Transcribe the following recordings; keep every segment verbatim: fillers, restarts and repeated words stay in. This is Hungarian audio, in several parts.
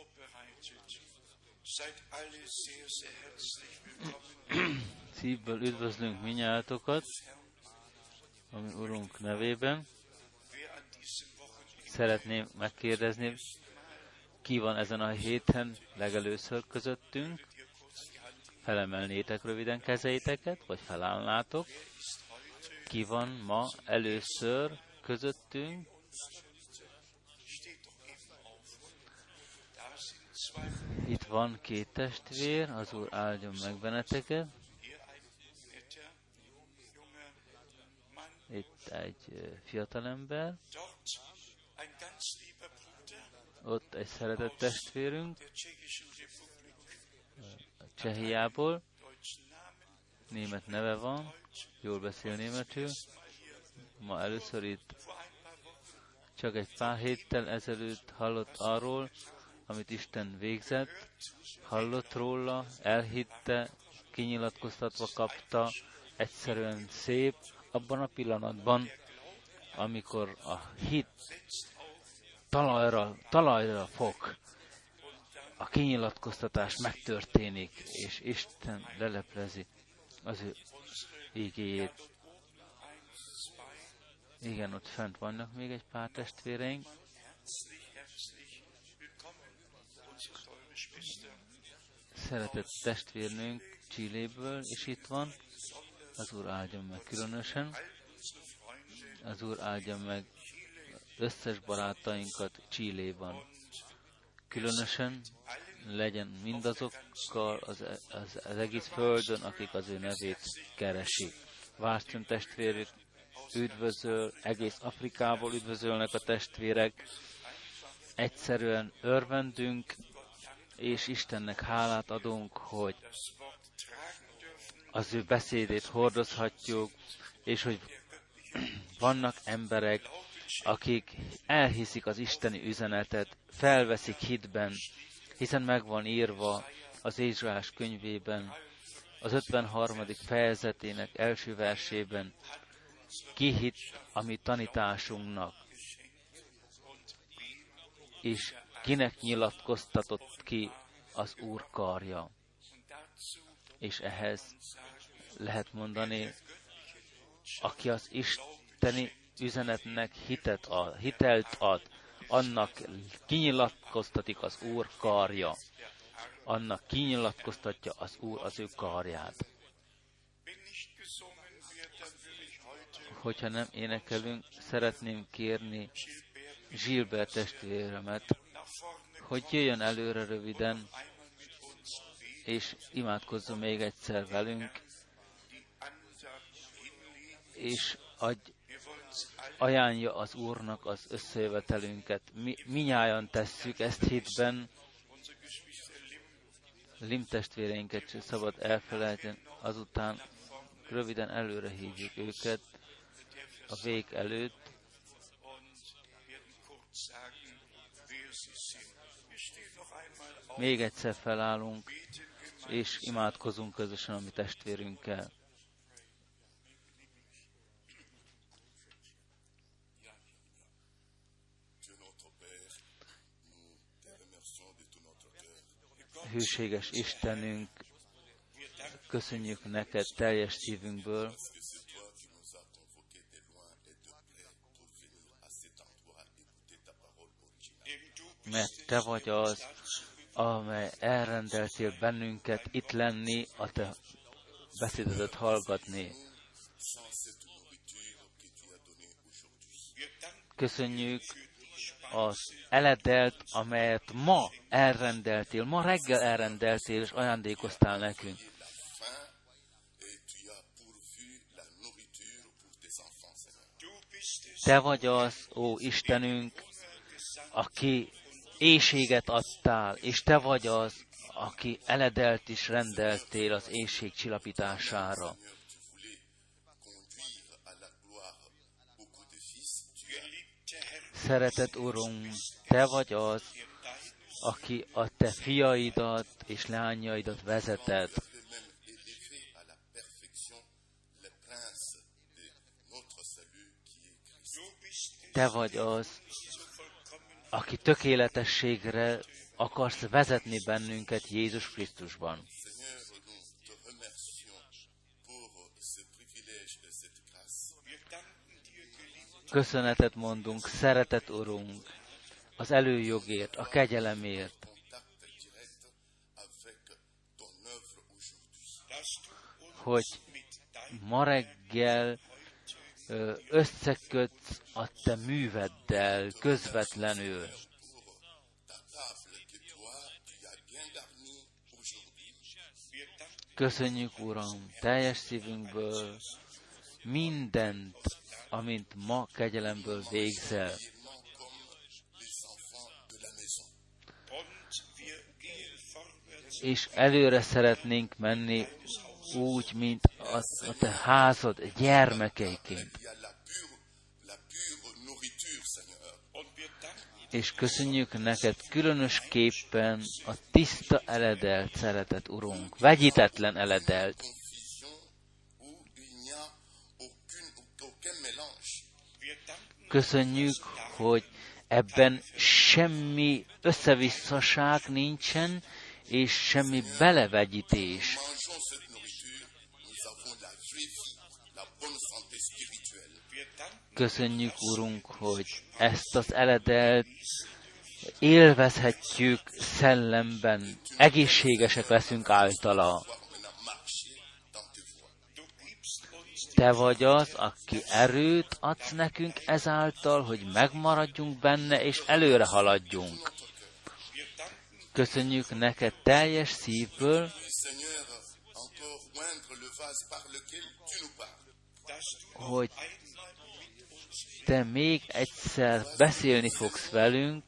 Szívből üdvözlünk minnyátokat, ami Urunk nevében. Szeretném megkérdezni, ki van ezen a héten legelőször közöttünk? Felemelnétek röviden kezeiteket, vagy felállnátok? Ki van ma először közöttünk? Itt van két testvér, az Úr áldjon meg benneteket. Itt egy fiatalember. Ott egy szeretett testvérünk, Csehiából. Német neve van, jól beszél németül. Ma először itt. Csak egy pár héttel ezelőtt hallott arról, amit Isten végzett, hallott róla, elhitte, kinyilatkoztatva kapta, egyszerűen szép, abban a pillanatban, amikor a hit talajra, talajra fog, a kinyilatkoztatás megtörténik, és Isten leleplezi az ő igéjét. Igen, ott fent vannak még egy pár testvéreink. Szeretett testvérnőnk Chiléből is itt van. Az Úr áldjon meg különösen. Az Úr áldjon meg összes barátainkat Chiléban. Különösen legyen mindazokkal az, az, az egész földön, akik az ő nevét keresik. Wárström testvérük üdvözöl, egész Afrikából üdvözölnek a testvérek. Egyszerűen örvendünk, és Istennek hálát adunk, hogy az ő beszédét hordozhatjuk, és hogy vannak emberek, akik elhiszik az isteni üzenetet, felveszik hitben, hiszen meg van írva az Ézsaiás könyvében, az ötvenharmadik fejezetének első versében, ki hitt a mi tanításunknak, és kinek nyilatkoztatott ki az Úr karja. És ehhez lehet mondani, aki az isteni üzenetnek hitet ad, hitelt ad, annak kinyilatkoztatik az Úr karja. Annak kinyilatkoztatja az Úr az ő karját. Hogyha nem énekelünk, szeretném kérni Gilbert testvéremet, hogy jöjjön előre röviden, és imádkozzon még egyszer velünk, és adj, ajánlja az Úrnak az összejövetelünket. Mi, minnyájan tesszük ezt hitben, Lim testvéreinket sem szabad elfelejteni, azután röviden előre hívjuk őket a vég előtt, még egyszer felállunk, és imádkozunk közösen a mi testvérünkkel. Hűséges Istenünk, köszönjük neked teljes szívünkből, mert te vagy az, amely elrendeltél bennünket itt lenni, a te beszédedet hallgatni. Köszönjük az eledelt, amelyet ma elrendeltél, ma reggel elrendeltél, és ajándékoztál nekünk. Te vagy az, ó Istenünk, aki éhséget adtál, és te vagy az, aki eledelt is rendeltél az éhség csillapítására. Szeretett Urunk, te vagy az, aki a te fiaidat és lányaidat vezeted. Te vagy az, aki tökéletességre akarsz vezetni bennünket Jézus Krisztusban. Köszönetet mondunk, szeretett Urunk, az előjogért, a kegyelemért, hogy ma reggel összekötsz a te műveddel közvetlenül. Köszönjük, Uram, teljes szívünkből mindent, amint ma kegyelemből végzel. És előre szeretnénk menni úgy, mint a, a te házad gyermekeiként. És köszönjük neked különösképpen a tiszta eledelt szeretet, Urunk, vegyítetlen eledelt. Köszönjük, hogy ebben semmi összevisszaság nincsen, és semmi belevegyítés. Köszönjük, Urunk, hogy ezt az eledelt élvezhetjük szellemben, egészségesek leszünk általa. Te vagy az, aki erőt adsz nekünk ezáltal, hogy megmaradjunk benne, és előre haladjunk. Köszönjük neked teljes szívből, hogy te még egyszer beszélni fogsz velünk,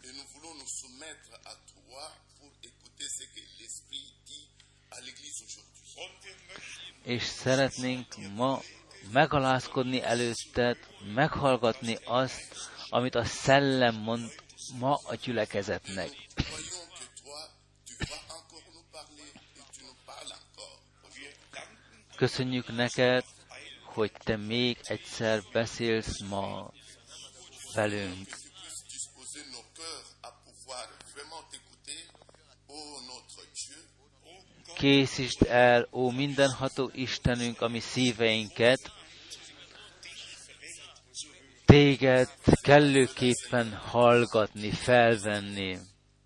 és szeretnénk ma megalázkodni előtted, meghallgatni azt, amit a Szellem mond ma a gyülekezetnek. Köszönjük neked, hogy te még egyszer beszélsz ma velünk. Készítsd el, ó mindenható Istenünk, a mi szíveinket, téged kellőképpen hallgatni, felvenni.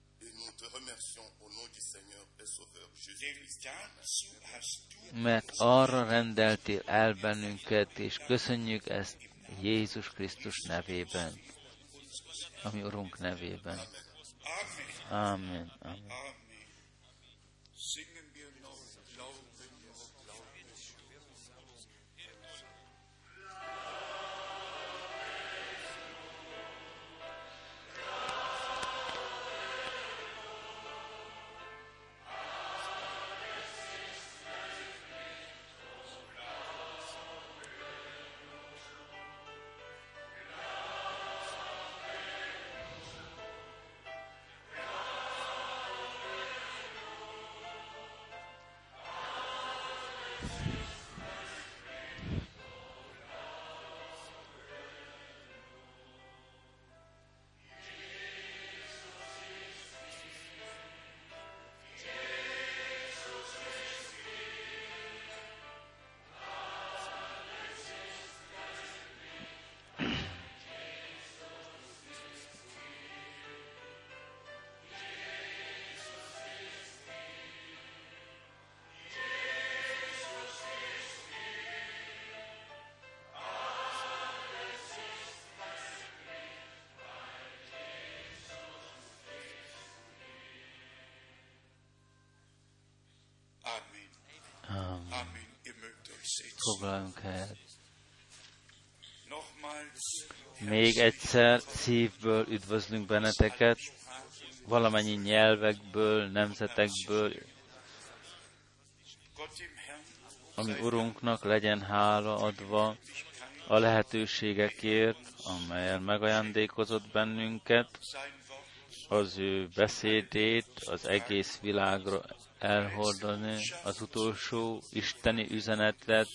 Mert arra rendeltél el bennünket, és köszönjük ezt Jézus Krisztus nevében, ami Urunk nevében. Amen. Amen. Amen. Foglaljunk helyet. Még egyszer szívből üdvözlünk benneteket, valamennyi nyelvekből, nemzetekből, ami Urunknak legyen hála adva a lehetőségekért, amelyen megajándékozott bennünket, az ő beszédét az egész világra elhordani, az utolsó isteni üzenetet,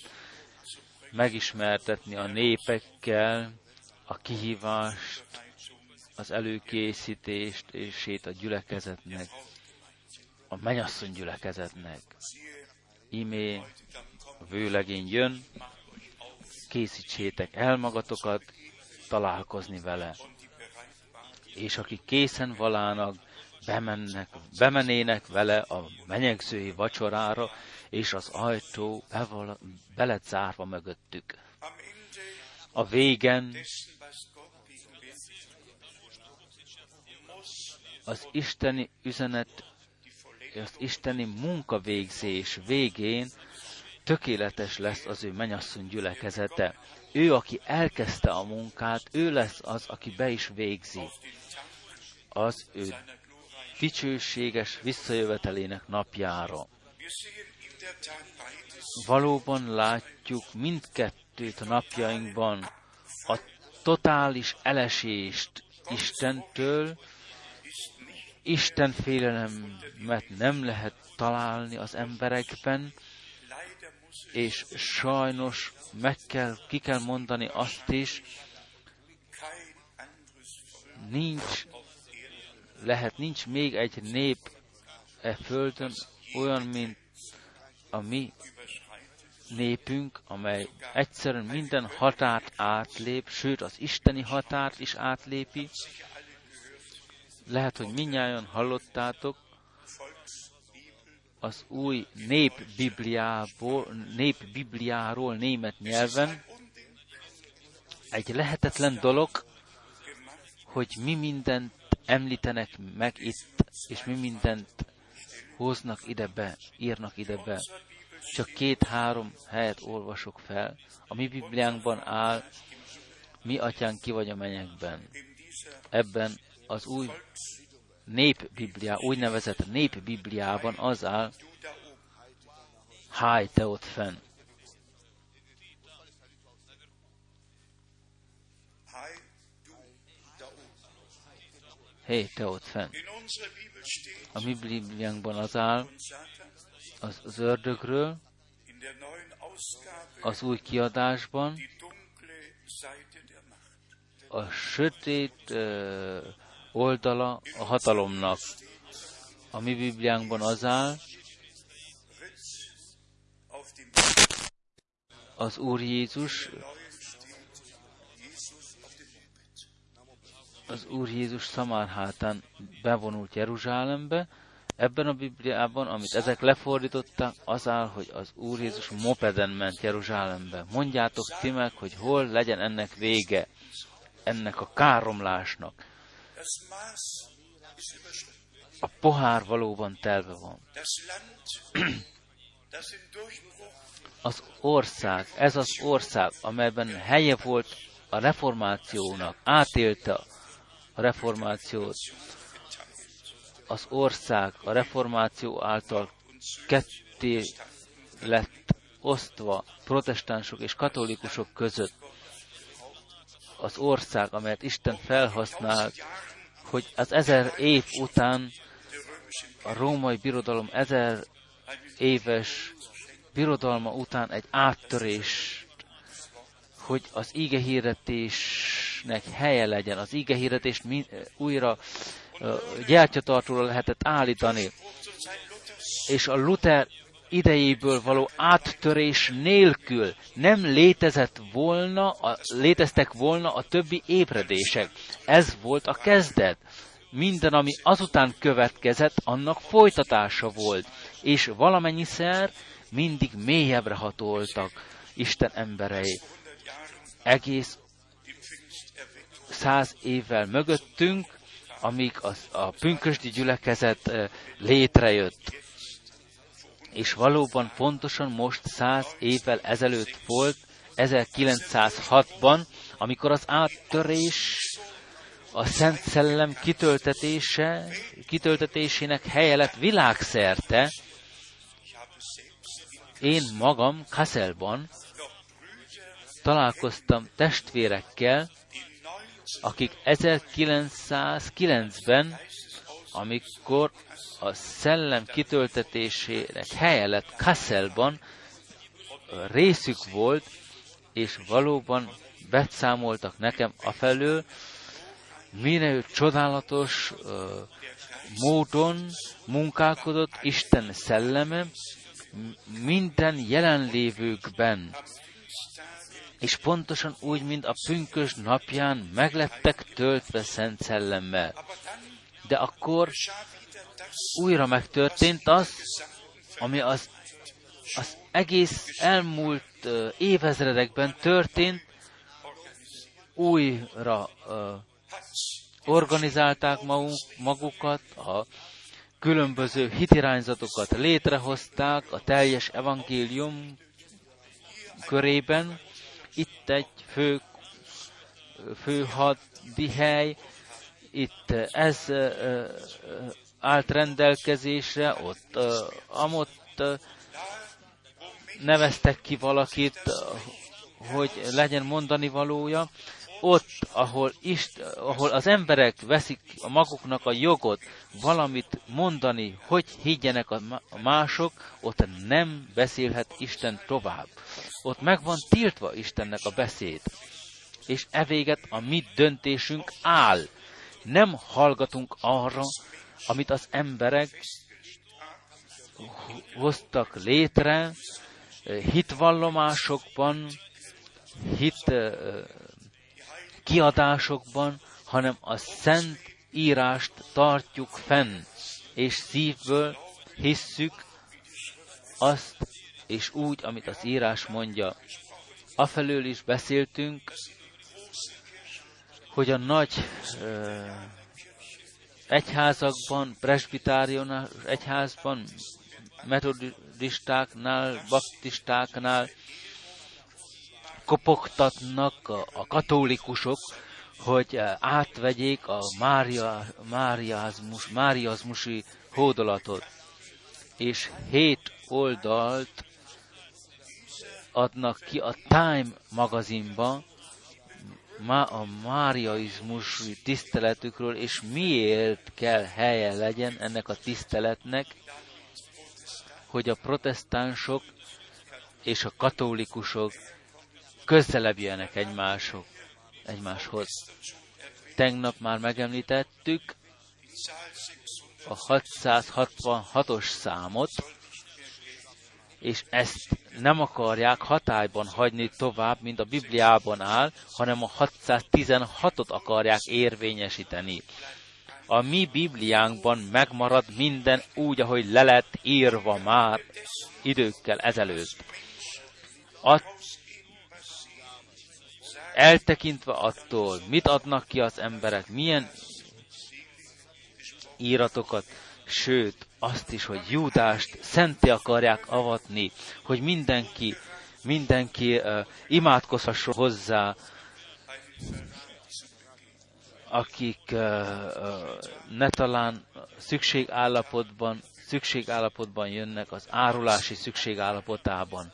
megismertetni a népekkel, a kihívást, a az előkészítését a gyülekezetnek, a mennyasszony gyülekezetnek. Imé a vőlegény jön, készítsétek el magatokat találkozni vele. És akik készen valának, bemennek, bemenének vele a menyegzői vacsorára, és az ajtó beval, be lett zárva mögöttük. A végen az isteni üzenet, az isteni munkavégzés végén tökéletes lesz az ő mennyasszony gyülekezete. Ő, aki elkezdte a munkát, ő lesz az, aki be is végzi. Az ő dicsőséges visszajövetelének napjára. Valóban látjuk mindkettőt a napjainkban, a totális elesést Istentől. Isten félelemet nem lehet találni az emberekben, és sajnos meg kell, ki kell mondani azt is, nincs, lehet, nincs még egy nép e földön olyan, mint a mi népünk, amely egyszerűen minden határt átlép, sőt az isteni határt is átlépi. Lehet, hogy mindnyájan hallottátok az új népbibliából, népbibliáról német nyelven. Egy lehetetlen dolog, hogy mi mindent említenek meg itt, és mi mindent hoznak ide be, írnak ide be. Csak két-három helyet olvasok fel. A mi Bibliánkban áll, mi atyánk ki vagy a mennyekben. Ebben az új népbibliá, úgynevezett népbibliában az áll, háj, te ott fenn. Hé, te ott fenn. A mi Bibliánkban az áll, az, az ördögről, az új kiadásban, a sötét uh, oldala a hatalomnak. A mi Bibliánkban az áll, az Úr Jézus, az Úr Jézus szamárhátán bevonult Jeruzsálembe. Ebben a Bibliában, amit ezek lefordítottak, az áll, hogy az Úr Jézus mopeden ment Jeruzsálembe. Mondjátok ti meg, hogy hol legyen ennek vége, ennek a káromlásnak. A pohár valóban telve van. Az ország, ez az ország, amelyben helye volt a reformációnak, átélte a reformációt. Az ország a reformáció által ketté lett osztva protestánsok és katolikusok között. Az ország, amelyet Isten felhasznált, hogy az ezer év után a római birodalom ezer éves birodalma után egy áttörést, hogy az igehirdetésnek helye legyen, az igehirdetést újra uh, gyertyatartóra lehetett állítani, és a Luther idejéből való áttörés nélkül nem létezett volna, a, léteztek volna a többi ébredések. Ez volt a kezdet. Minden, ami azután következett, annak folytatása volt, és valamennyiszer mindig mélyebbre hatoltak Isten emberei. Egész száz évvel mögöttünk, amíg az, a pünkösdi gyülekezet létrejött. És valóban pontosan most száz évvel ezelőtt volt, ezerkilencszázhatban, amikor az áttörés, a Szent Szellem kitöltetése, kitöltetésének helye lett világszerte. Én magam Kasselban találkoztam testvérekkel, akik ezerkilencszázkilencben, amikor a szellem kitöltetésének helye lett Kasselban, részük volt, és valóban beszámoltak nekem afelől, Mire csodálatos uh, módon munkálkodott Isten szelleme minden jelenlévőkben. És pontosan úgy, mint a pünkösd napján meglettek töltve Szent Szellemmel. De akkor újra megtörtént az, ami az, az egész elmúlt uh, évezredekben történt, újra uh, organizálták maguk, magukat, a különböző hitirányzatokat létrehozták a teljes evangélium körében. Itt egy fő, fő hadihely, itt ez uh, állt rendelkezésre, ott uh, amott uh, neveztek ki valakit, uh, hogy legyen mondani valója. Ott, ahol, Ist, ahol az emberek veszik a maguknak a jogot valamit mondani, hogy higgyenek a mások, ott nem beszélhet Isten tovább. Ott meg van tiltva Istennek a beszéd. És evéget a mi döntésünk áll. Nem hallgatunk arra, amit az emberek hoztak létre, hitvallomásokban, hit kiadásokban, hanem a Szent Írást tartjuk fenn, és szívből hisszük azt, és úgy, amit az írás mondja. Afelől is beszéltünk, hogy a nagy uh, egyházakban, presbitáriánus egyházban, metodistáknál, baptistáknál kopogtatnak a, a katolikusok, hogy átvegyék a mária, máriázmus, máriazmusi hódolatot. És hét oldalt adnak ki a Time magazinba a máriaizmusi tiszteletükről, és miért kell helye legyen ennek a tiszteletnek, hogy a protestánsok és a katolikusok közelebb jönnek egymások, egymáshoz. Tegnap már megemlítettük a hatszázhatvanhatos számot, és ezt nem akarják hatályban hagyni tovább, mint a Bibliában áll, hanem a hatszáztizenhatot akarják érvényesíteni. A mi Bibliánkban megmarad minden úgy, ahogy le lett írva már időkkel ezelőtt. A Eltekintve attól, mit adnak ki az emberek, milyen íratokat, sőt, azt is, hogy Júdást szenté akarják avatni, hogy mindenki, mindenki uh, imádkozhasson hozzá, akik uh, uh, ne talán szükségállapotban, szükségállapotban jönnek az árulási szükségállapotában.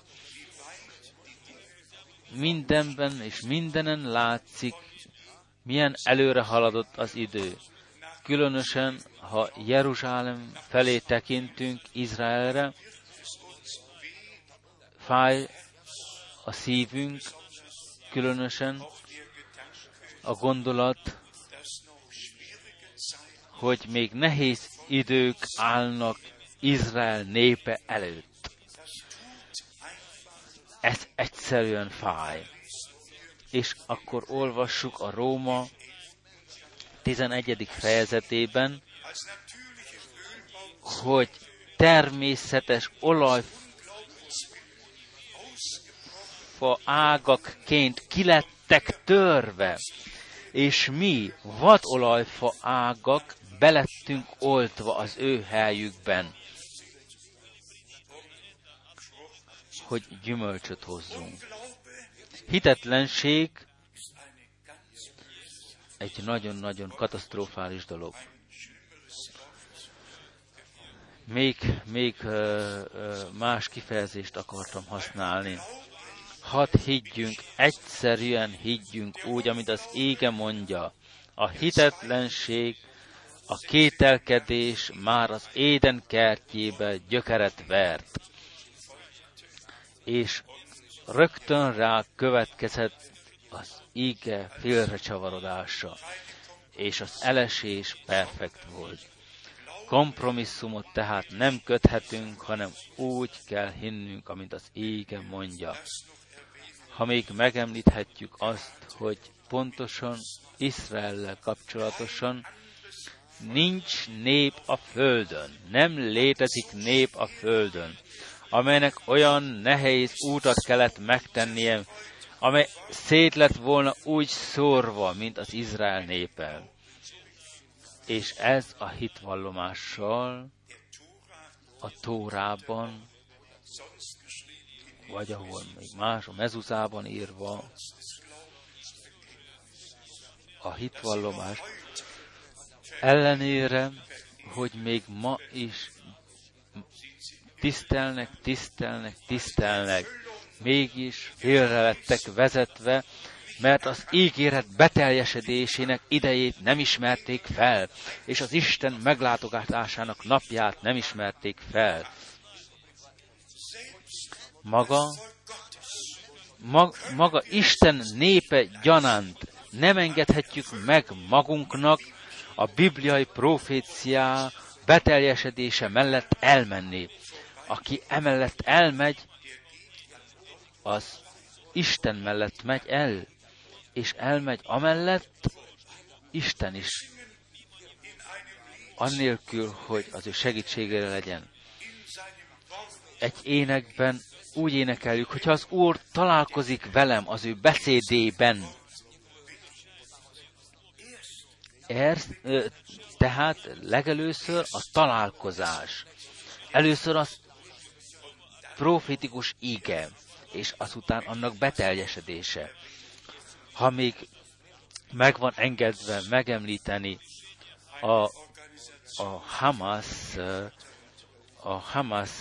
Mindenben és mindenen látszik, milyen előre haladott az idő. Különösen, ha Jeruzsálem felé tekintünk, Izraelre, fáj a szívünk, különösen a gondolat, hogy még nehéz idők állnak Izrael népe előtt. Ez egyszerűen fáj. És akkor olvassuk a Róma tizenegyedik fejezetében, hogy természetes olajfa ágakként kilettek törve, és mi vadolajfa ágak belettünk oltva az ő helyükben, hogy gyümölcsöt hozzunk. Hitetlenség egy nagyon-nagyon katasztrofális dolog. Még, még uh, uh, más kifejezést akartam használni. Hadd higgyünk, egyszerűen higgyünk úgy, amit az ége mondja. A hitetlenség, a kételkedés már az Éden kertjébe gyökeret vert. És rögtön rá következett az íge félrecsavarodása. és az elesés perfekt volt. Kompromisszumot tehát nem köthetünk, hanem úgy kell hinnünk, amint az ége mondja. Ha még megemlíthetjük azt, hogy pontosan Izraellel kapcsolatosan nincs nép a földön, nem létezik nép a földön, amelynek olyan nehéz útat kellett megtennie, amely szét lett volna úgy szórva, mint az Izrael népe. És ez a hitvallomással a Tórában, vagy ahol még más, a Mezuzában írva, a hitvallomás ellenére, hogy még ma is tisztelnek, tisztelnek, tisztelnek, mégis félre lettek vezetve, mert az ígéret beteljesedésének idejét nem ismerték fel, és az Isten meglátogatásának napját nem ismerték fel. Maga, mag, maga Isten népe gyanánt nem engedhetjük meg magunknak a bibliai proféciá beteljesedése mellett elmenni. Aki emellett elmegy, az Isten mellett megy el, és elmegy amellett Isten is, annélkül, hogy az ő segítségére legyen. Egy énekben úgy énekeljük, hogyha az Úr találkozik velem az ő beszédében. Ez, tehát legelőször a találkozás. Először az profétikus íge, és azután annak beteljesedése. Ha még meg van engedve megemlíteni a, a Hamas, a Hamas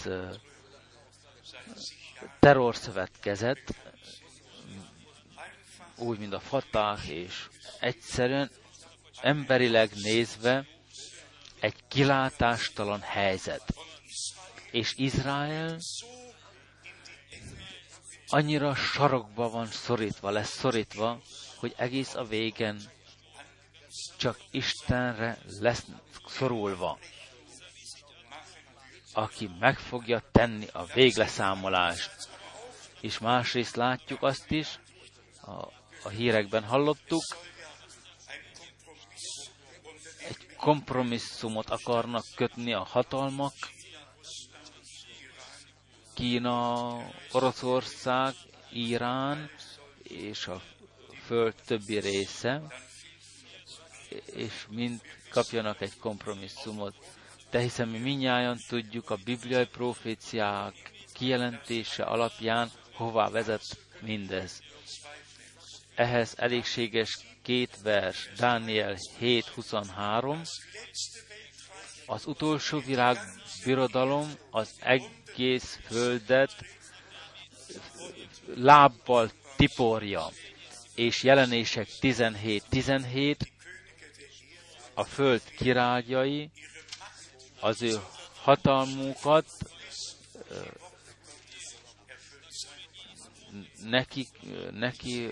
terrorszövetkezet, úgy, mint a Fatah, és egyszerűen emberileg nézve egy kilátástalan helyzet. És Izrael annyira sarokba van szorítva, lesz szorítva, hogy egész a végen csak Istenre lesz szorulva, aki meg fogja tenni a végleszámolást. És másrészt látjuk azt is, a, a hírekben hallottuk, egy kompromisszumot akarnak kötni a hatalmak, Kína, Oroszország, Irán és a föld többi része, és mind kapjanak egy kompromisszumot. De hiszen mi mindnyájan tudjuk a bibliai proféciák kijelentése alapján, hová vezet mindez. Ehhez elégséges két vers, Dániel hét huszonhárom. Az utolsó világbirodalom az egész földet lábbal tiporja, és Jelenések tizenhét tizenhét, a föld királyai az ő hatalmukat neki, neki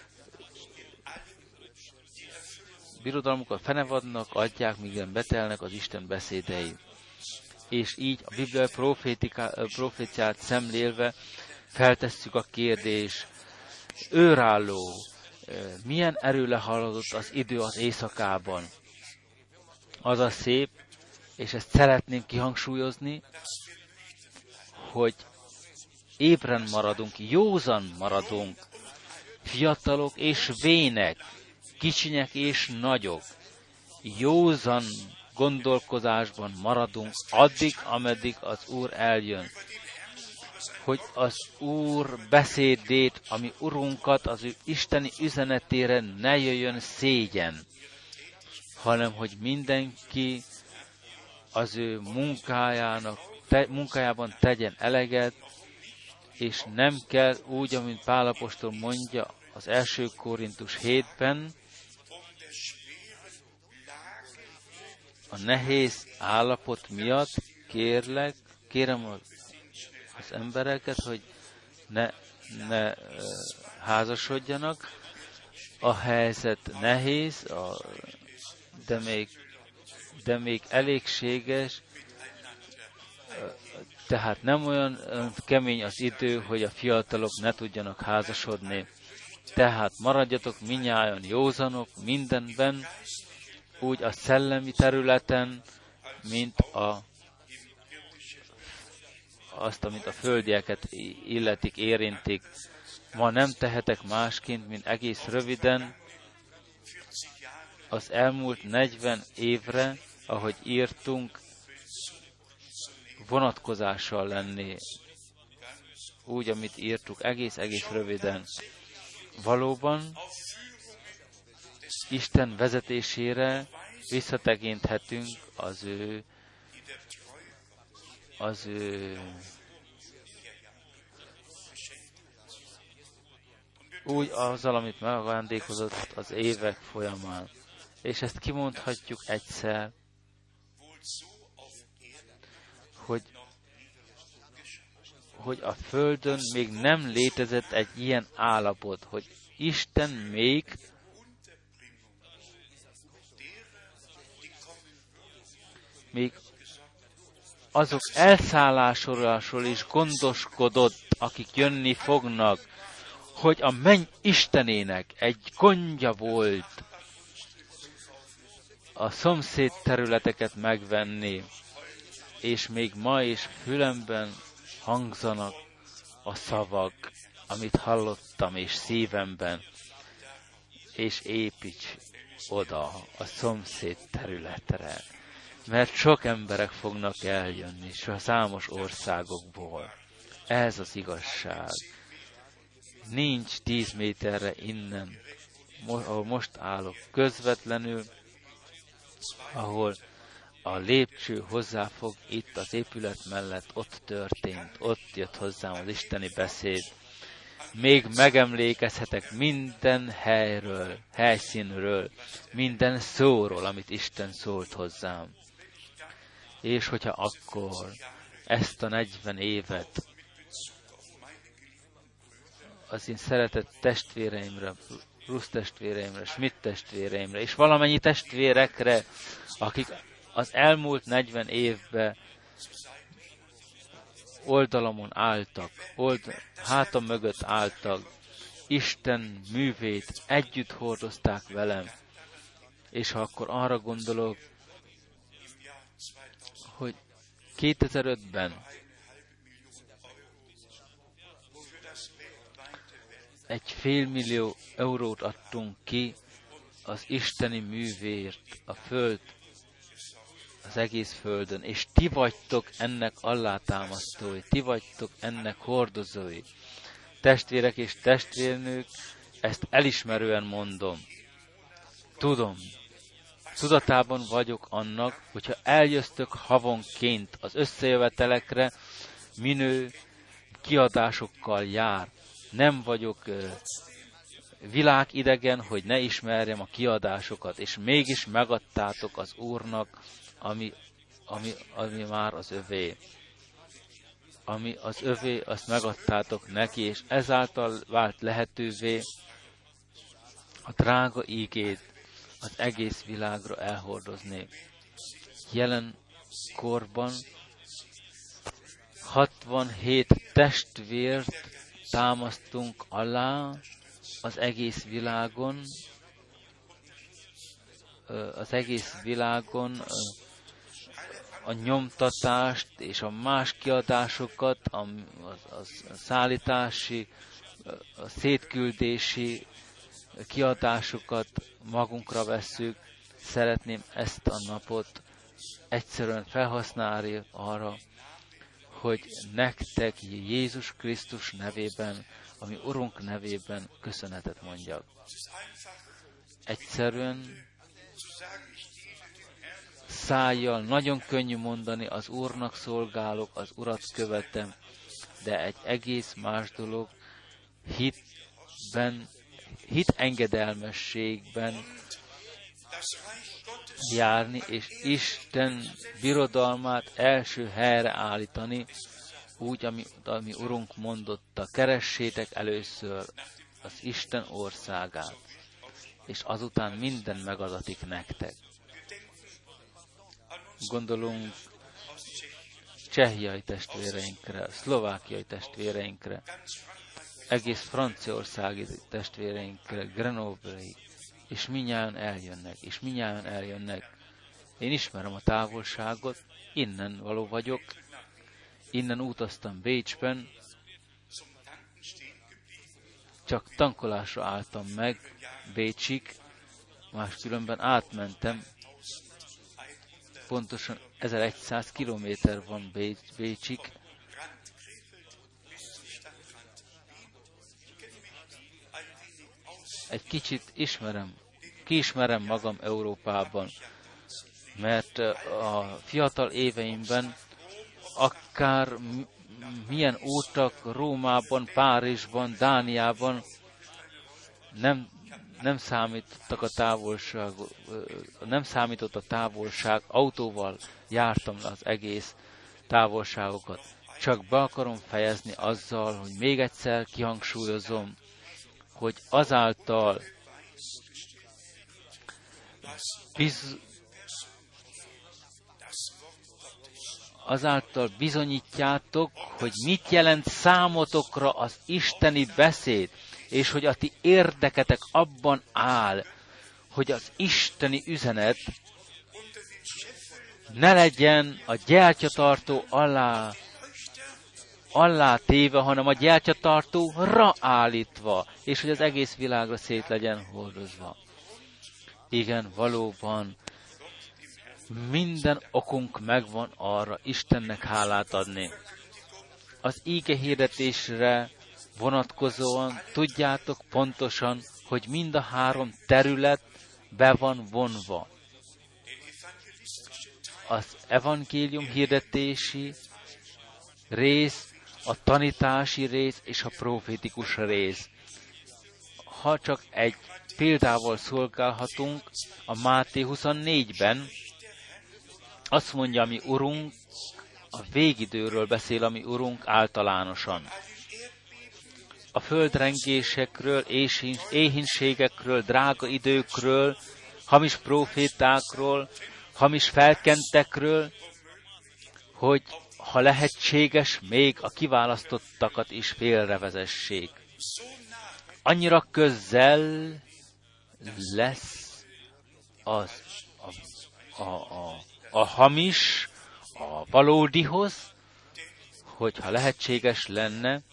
birodalmukat fenevadnak, adják, míg betelnek az Isten beszédei. És így a bibliai proféciát szemlélve feltesszük a kérdés, őrálló, milyen erőle haladott az idő az éjszakában. Az a szép, és ezt szeretném kihangsúlyozni, hogy ébren maradunk, józan maradunk, fiatalok és vének, kicsinyek és nagyok, józan gondolkozásban maradunk addig, ameddig az Úr eljön. Hogy az Úr beszédét, ami Urunkat, az ő isteni üzenetére ne jöjjön szégyen, hanem hogy mindenki az ő munkájának, te, munkájában tegyen eleget, és nem kell úgy, amint Pál apostol mondja az első Korintus hétben, a nehéz állapot miatt kérlek, kérem az embereket, hogy ne, ne házasodjanak. A helyzet nehéz, a, de még, de még elégséges, tehát nem olyan kemény az idő, hogy a fiatalok ne tudjanak házasodni. Tehát maradjatok minnyájan józanok mindenben, úgy a szellemi területen, mint a, azt, amit a földieket illetik, érintik. Ma nem tehetek másként, mint egész röviden az elmúlt negyven évre, ahogy írtunk, vonatkozással lenni. Úgy, amit írtuk, egész-egész röviden. Valóban Isten vezetésére visszatekinthetünk az ő az ő úgy azzal, amit megajándékozott az évek folyamán. És ezt kimondhatjuk egyszer, hogy, hogy a Földön még nem létezett egy ilyen állapot, hogy Isten még még azok elszállásról is gondoskodott, akik jönni fognak, hogy a menny Istenének egy gondja volt a szomszéd területeket megvenni, és még ma is fülemben hangzanak a szavak, amit hallottam, és szívemben, és építs oda a szomszéd területre, mert sok emberek fognak eljönni, és a számos országokból. Ez az igazság. Nincs tíz méterre innen, ahol most állok, közvetlenül, ahol a lépcső hozzáfog, itt az épület mellett, ott történt, ott jött hozzám az isteni beszéd. Még megemlékezhetek minden helyről, helyszínről, minden szóról, amit Isten szólt hozzám. És hogyha akkor ezt a negyven évet az én szeretett testvéreimre, Rusz testvéreimre, Schmidt testvéreimre, és valamennyi testvérekre, akik az elmúlt negyven évben oldalamon álltak, old, hátam mögött álltak, Isten művét együtt hordozták velem. És ha akkor arra gondolok, hogy kétezer-ötben egy félmillió eurót adtunk ki az isteni művért a föld, az egész földön, és ti vagytok ennek alátámasztói, ti vagytok ennek hordozói. Testvérek és testvérnők, ezt elismerően mondom. Tudom, tudatában vagyok annak, hogyha eljöztök havonként az összejövetelekre, minő kiadásokkal jár. Nem vagyok uh, világidegen, hogy ne ismerjem a kiadásokat, és mégis megadtátok az Úrnak, ami, ami, ami már az övé. Ami az övé, azt megadtátok neki, és ezáltal vált lehetővé a drága ígét az egész világra elhordozni. Jelen korban hatvanhét testvért támasztunk alá az egész világon, az egész világon a nyomtatást és a más kiadásokat, a, a, a szállítási, a szétküldési kiadásokat magunkra vesszük. Szeretném ezt a napot egyszerűen felhasználni arra, hogy nektek Jézus Krisztus nevében, ami Urunk nevében köszönetet mondjak. Egyszerűen szájjal nagyon könnyű mondani, az Úrnak szolgálok, az Urat követem, de egy egész más dolog hitben, hit engedelmességben járni, és Isten birodalmát első helyre állítani, úgy, ami, ami Urunk mondotta, keressétek először az Isten országát, és azután minden megadatik nektek. gondolunk csehiai testvéreinkre, szlovákiai testvéreinkre, egész franciaországi testvéreinkre, Grenoble-i, és minnyáján eljönnek, és minnyáján eljönnek. Én ismerem a távolságot, innen való vagyok, innen utaztam Bécsben, csak tankolásra álltam meg Bécsig, máskülönben átmentem, pontosan ezerszáz kilométer van Bécs, Bécsig. Egy kicsit ismerem, kiismerem magam Európában, mert a fiatal éveimben akár milyen útak Rómában, Párizsban, Dániában nem, nem számítottak a távolság, nem számított a távolság, autóval jártam le az egész távolságokat. Csak be akarom fejezni azzal, hogy még egyszer kihangsúlyozom, hogy azáltal biz, azáltal bizonyítjátok, hogy mit jelent számotokra az isteni beszéd, és hogy a ti érdeketek abban áll, hogy az isteni üzenet ne legyen a gyertyatartó alá, alá téve, hanem a gyertyatartóra állítva, és hogy az egész világra szét legyen hordozva. Igen, valóban, minden okunk megvan arra Istennek hálát adni. Az íge hirdetésre vonatkozóan tudjátok pontosan, hogy mind a három terület be van vonva. Az evangélium hirdetési rész, a tanítási rész és a profétikus rész. Ha csak egy példával szolgálhatunk, a Máté huszonnégyben azt mondja, ami Urunk, a végidőről beszél, ami Urunk általánosan. A földrengésekről, éhínségekről, drága időkről, hamis profétákról, hamis felkentekről, hogy ha lehetséges, még a kiválasztottakat is félrevezessék. Annyira közel lesz az a, a, a, a hamis a valódihoz, hogyha lehetséges lenne,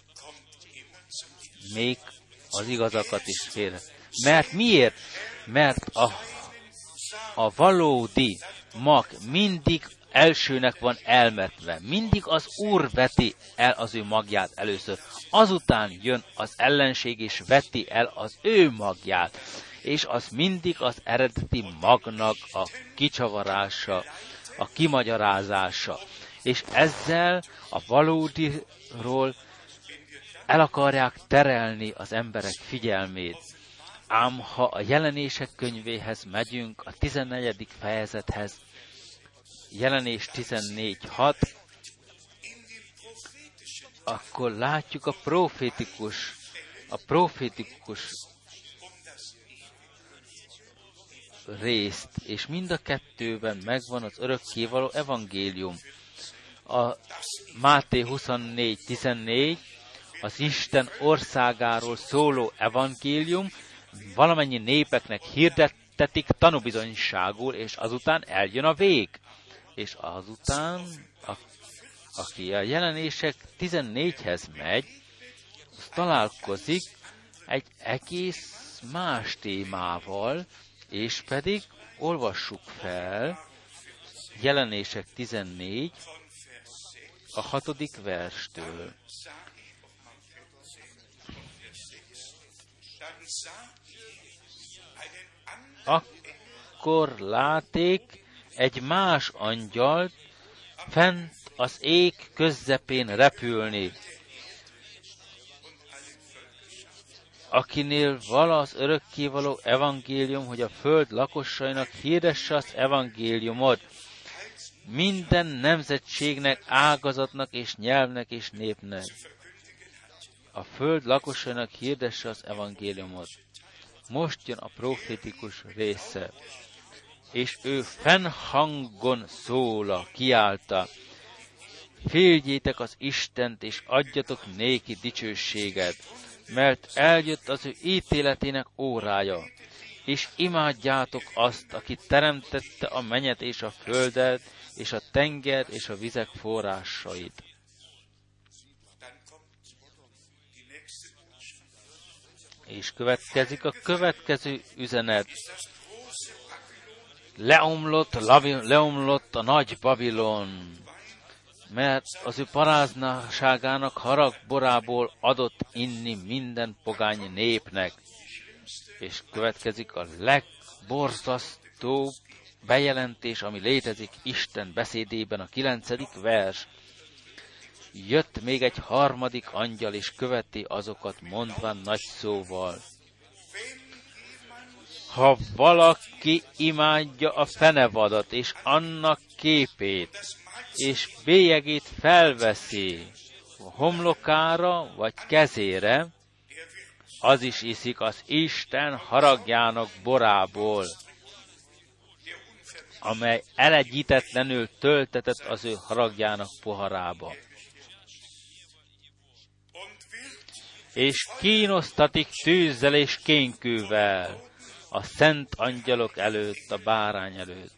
még az igazakat is félre. Mert miért? Mert a, a valódi mag mindig elsőnek van elmetve. Mindig az Úr veti el az ő magját először. Azután jön az ellenség és veti el az ő magját. És az mindig az eredeti magnak a kicsavarása, a kimagyarázása. És ezzel a valódiról el akarják terelni az emberek figyelmét. Ám ha a jelenések könyvéhez megyünk, a tizennegyedik fejezethez, jelenés tizennégy hat, akkor látjuk a profétikus, a profétikus részt, és mind a kettőben megvan az örökkévaló evangélium. A Máté huszonnégy tizennégy, az Isten országáról szóló evangélium, valamennyi népeknek hirdettetik tanúbizonyságul, és azután eljön a vég. És azután, a, aki a jelenések tizennégyhez megy, az találkozik egy egész más témával, és pedig olvassuk fel jelenések tizennégy, a hatodik verstől. Akkor láték egy más angyalt fent az ég közepén repülni, akinél vala az örökkévaló evangélium, hogy a föld lakosainak hirdesse az evangéliumot, minden nemzetségnek, ágazatnak és nyelvnek és népnek. A föld lakosainak hirdesse az evangéliumot. Most jön a profétikus része. és ő fennhangon szóla, kiálta, féltjétek az Istent, és adjatok néki dicsőséget, mert eljött az ő ítéletének órája, és imádjátok azt, aki teremtette a mennyet és a földet, és a tenger és a vizek forrásait. És következik a következő üzenet. Leomlott, leomlott a nagy Babilon, mert az ő paráznaságának haragborából adott inni minden pogány népnek. És következik a legborzasztóbb bejelentés, ami létezik Isten beszédében, a kilencedik vers. Jött még egy harmadik angyal, és követi azokat, mondván nagy szóval. Ha valaki imádja a fenevadat, és annak képét, és bélyegét felveszi homlokára, vagy kezére, az is iszik az Isten haragjának borából, amely elegyítetlenül töltetett az ő haragjának poharába. És kínosztatik tűzzel és kénkővel a szent angyalok előtt, a bárány előtt.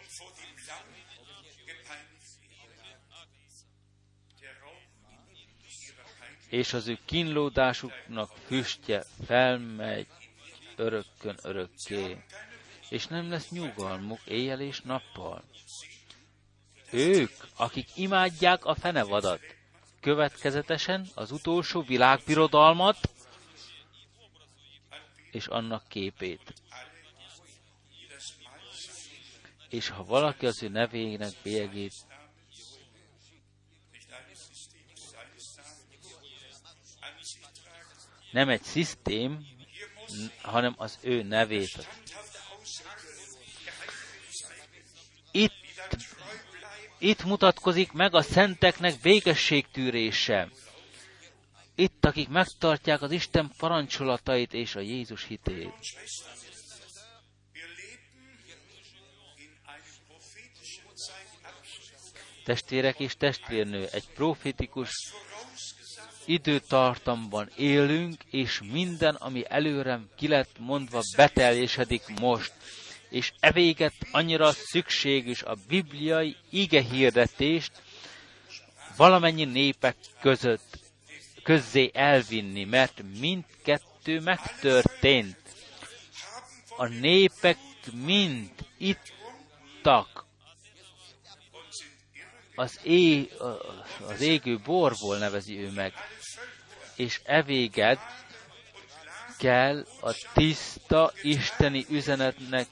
És az ő kínlódásuknak füstje felmegy örökkön örökké, és nem lesz nyugalmuk éjjel és nappal. Ők, akik imádják a fenevadat, következetesen az utolsó világbirodalmat és annak képét. És ha valaki az ő nevének bélyegét nem egy szisztém, hanem az ő nevét. Itt, itt mutatkozik meg a szenteknek békességtűrése. Itt, akik megtartják az Isten parancsolatait és a Jézus hitét. Testvérek és testvérnő, egy profétikus időtartamban élünk, és minden, ami előre ki lett mondva, beteljesedik most. És evéget annyira szükséges a bibliai igehirdetést valamennyi népek között közzé elvinni, mert mindkettő megtörtént. A népek mind ittak az, é, az égő borból, nevezi ő meg, és evéget kell a tiszta isteni üzenetnek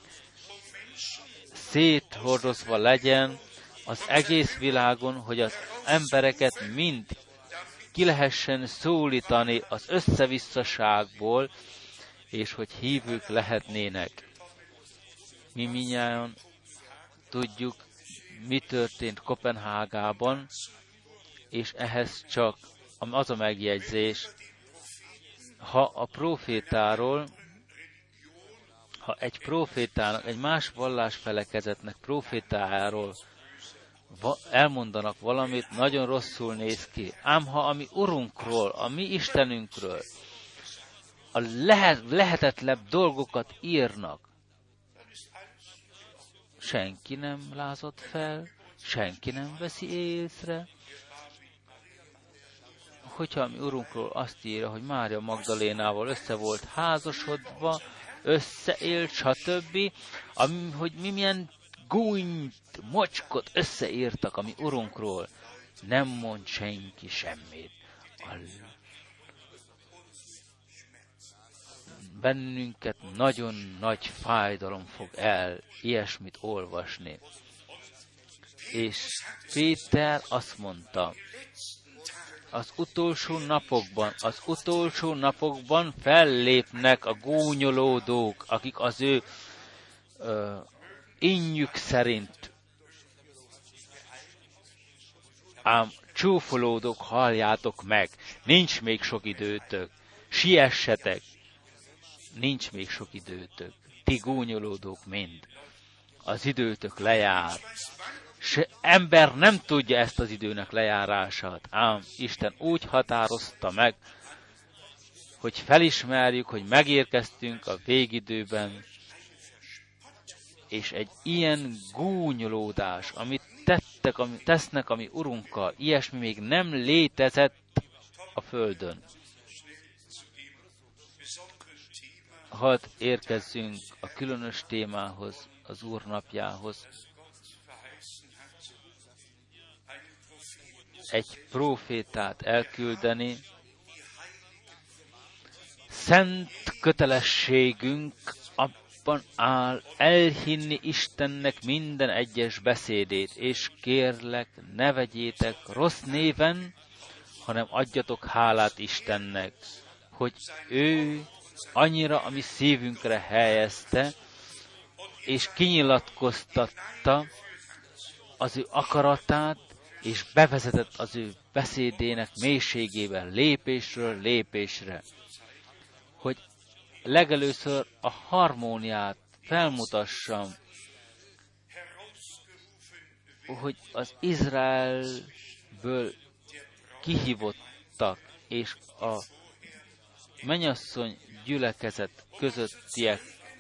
széthordozva legyen az egész világon, hogy az embereket mind ki lehessen szólítani az összevisszaságból, és hogy hívők lehetnének. Mi mindnyájan tudjuk, mi történt Koppenhágában, és ehhez csak az a megjegyzés, ha a profétáról, ha egy profétának, egy más vallásfelekezetnek profétájáról elmondanak valamit, nagyon rosszul néz ki. Ám ha a mi Urunkról, a mi Istenünkről a lehet, lehetetlebb dolgokat írnak, senki nem lázadt fel, senki nem veszi észre. Hogyha a mi Urunkról azt írja, hogy Mária Magdalénával össze volt házasodva, összeélt, stb., ami, hogy mi milyen gúnyt, mocskot összeírtak a mi Urunkról, nem mond senki semmit. Bennünket nagyon nagy fájdalom fog el ilyesmit olvasni. És Péter azt mondta, az utolsó napokban, az utolsó napokban fellépnek a gúnyolódók, akik az ő ö, innyük szerint ám csúfolódók, halljátok meg, nincs még sok időtök, siessetek, nincs még sok időtök, ti gúnyolódók mind. az időtök lejár. Se ember nem tudja ezt az időnek lejárását, ám Isten úgy határozta meg, hogy felismerjük, hogy megérkeztünk a végidőben, és egy ilyen gúnyolódás, amit tettek, amit tesznek a mi Urunkkal, ilyesmi még nem létezett a földön. Hadd érkezzünk a különös témához, az Úr napjához. Egy prófétát elküldeni, szent kötelességünk abban áll elhinni Istennek minden egyes beszédét, és kérlek, ne vegyétek rossz néven, hanem adjatok hálát Istennek, hogy ő annyira a mi szívünkre helyezte, és kinyilatkoztatta az ő akaratát, és bevezetett az ő beszédének mélységében lépésről lépésre, hogy legelőször a harmóniát felmutassam, hogy az Izraelből kihívottak, és a mennyasszony gyülekezet közöttiek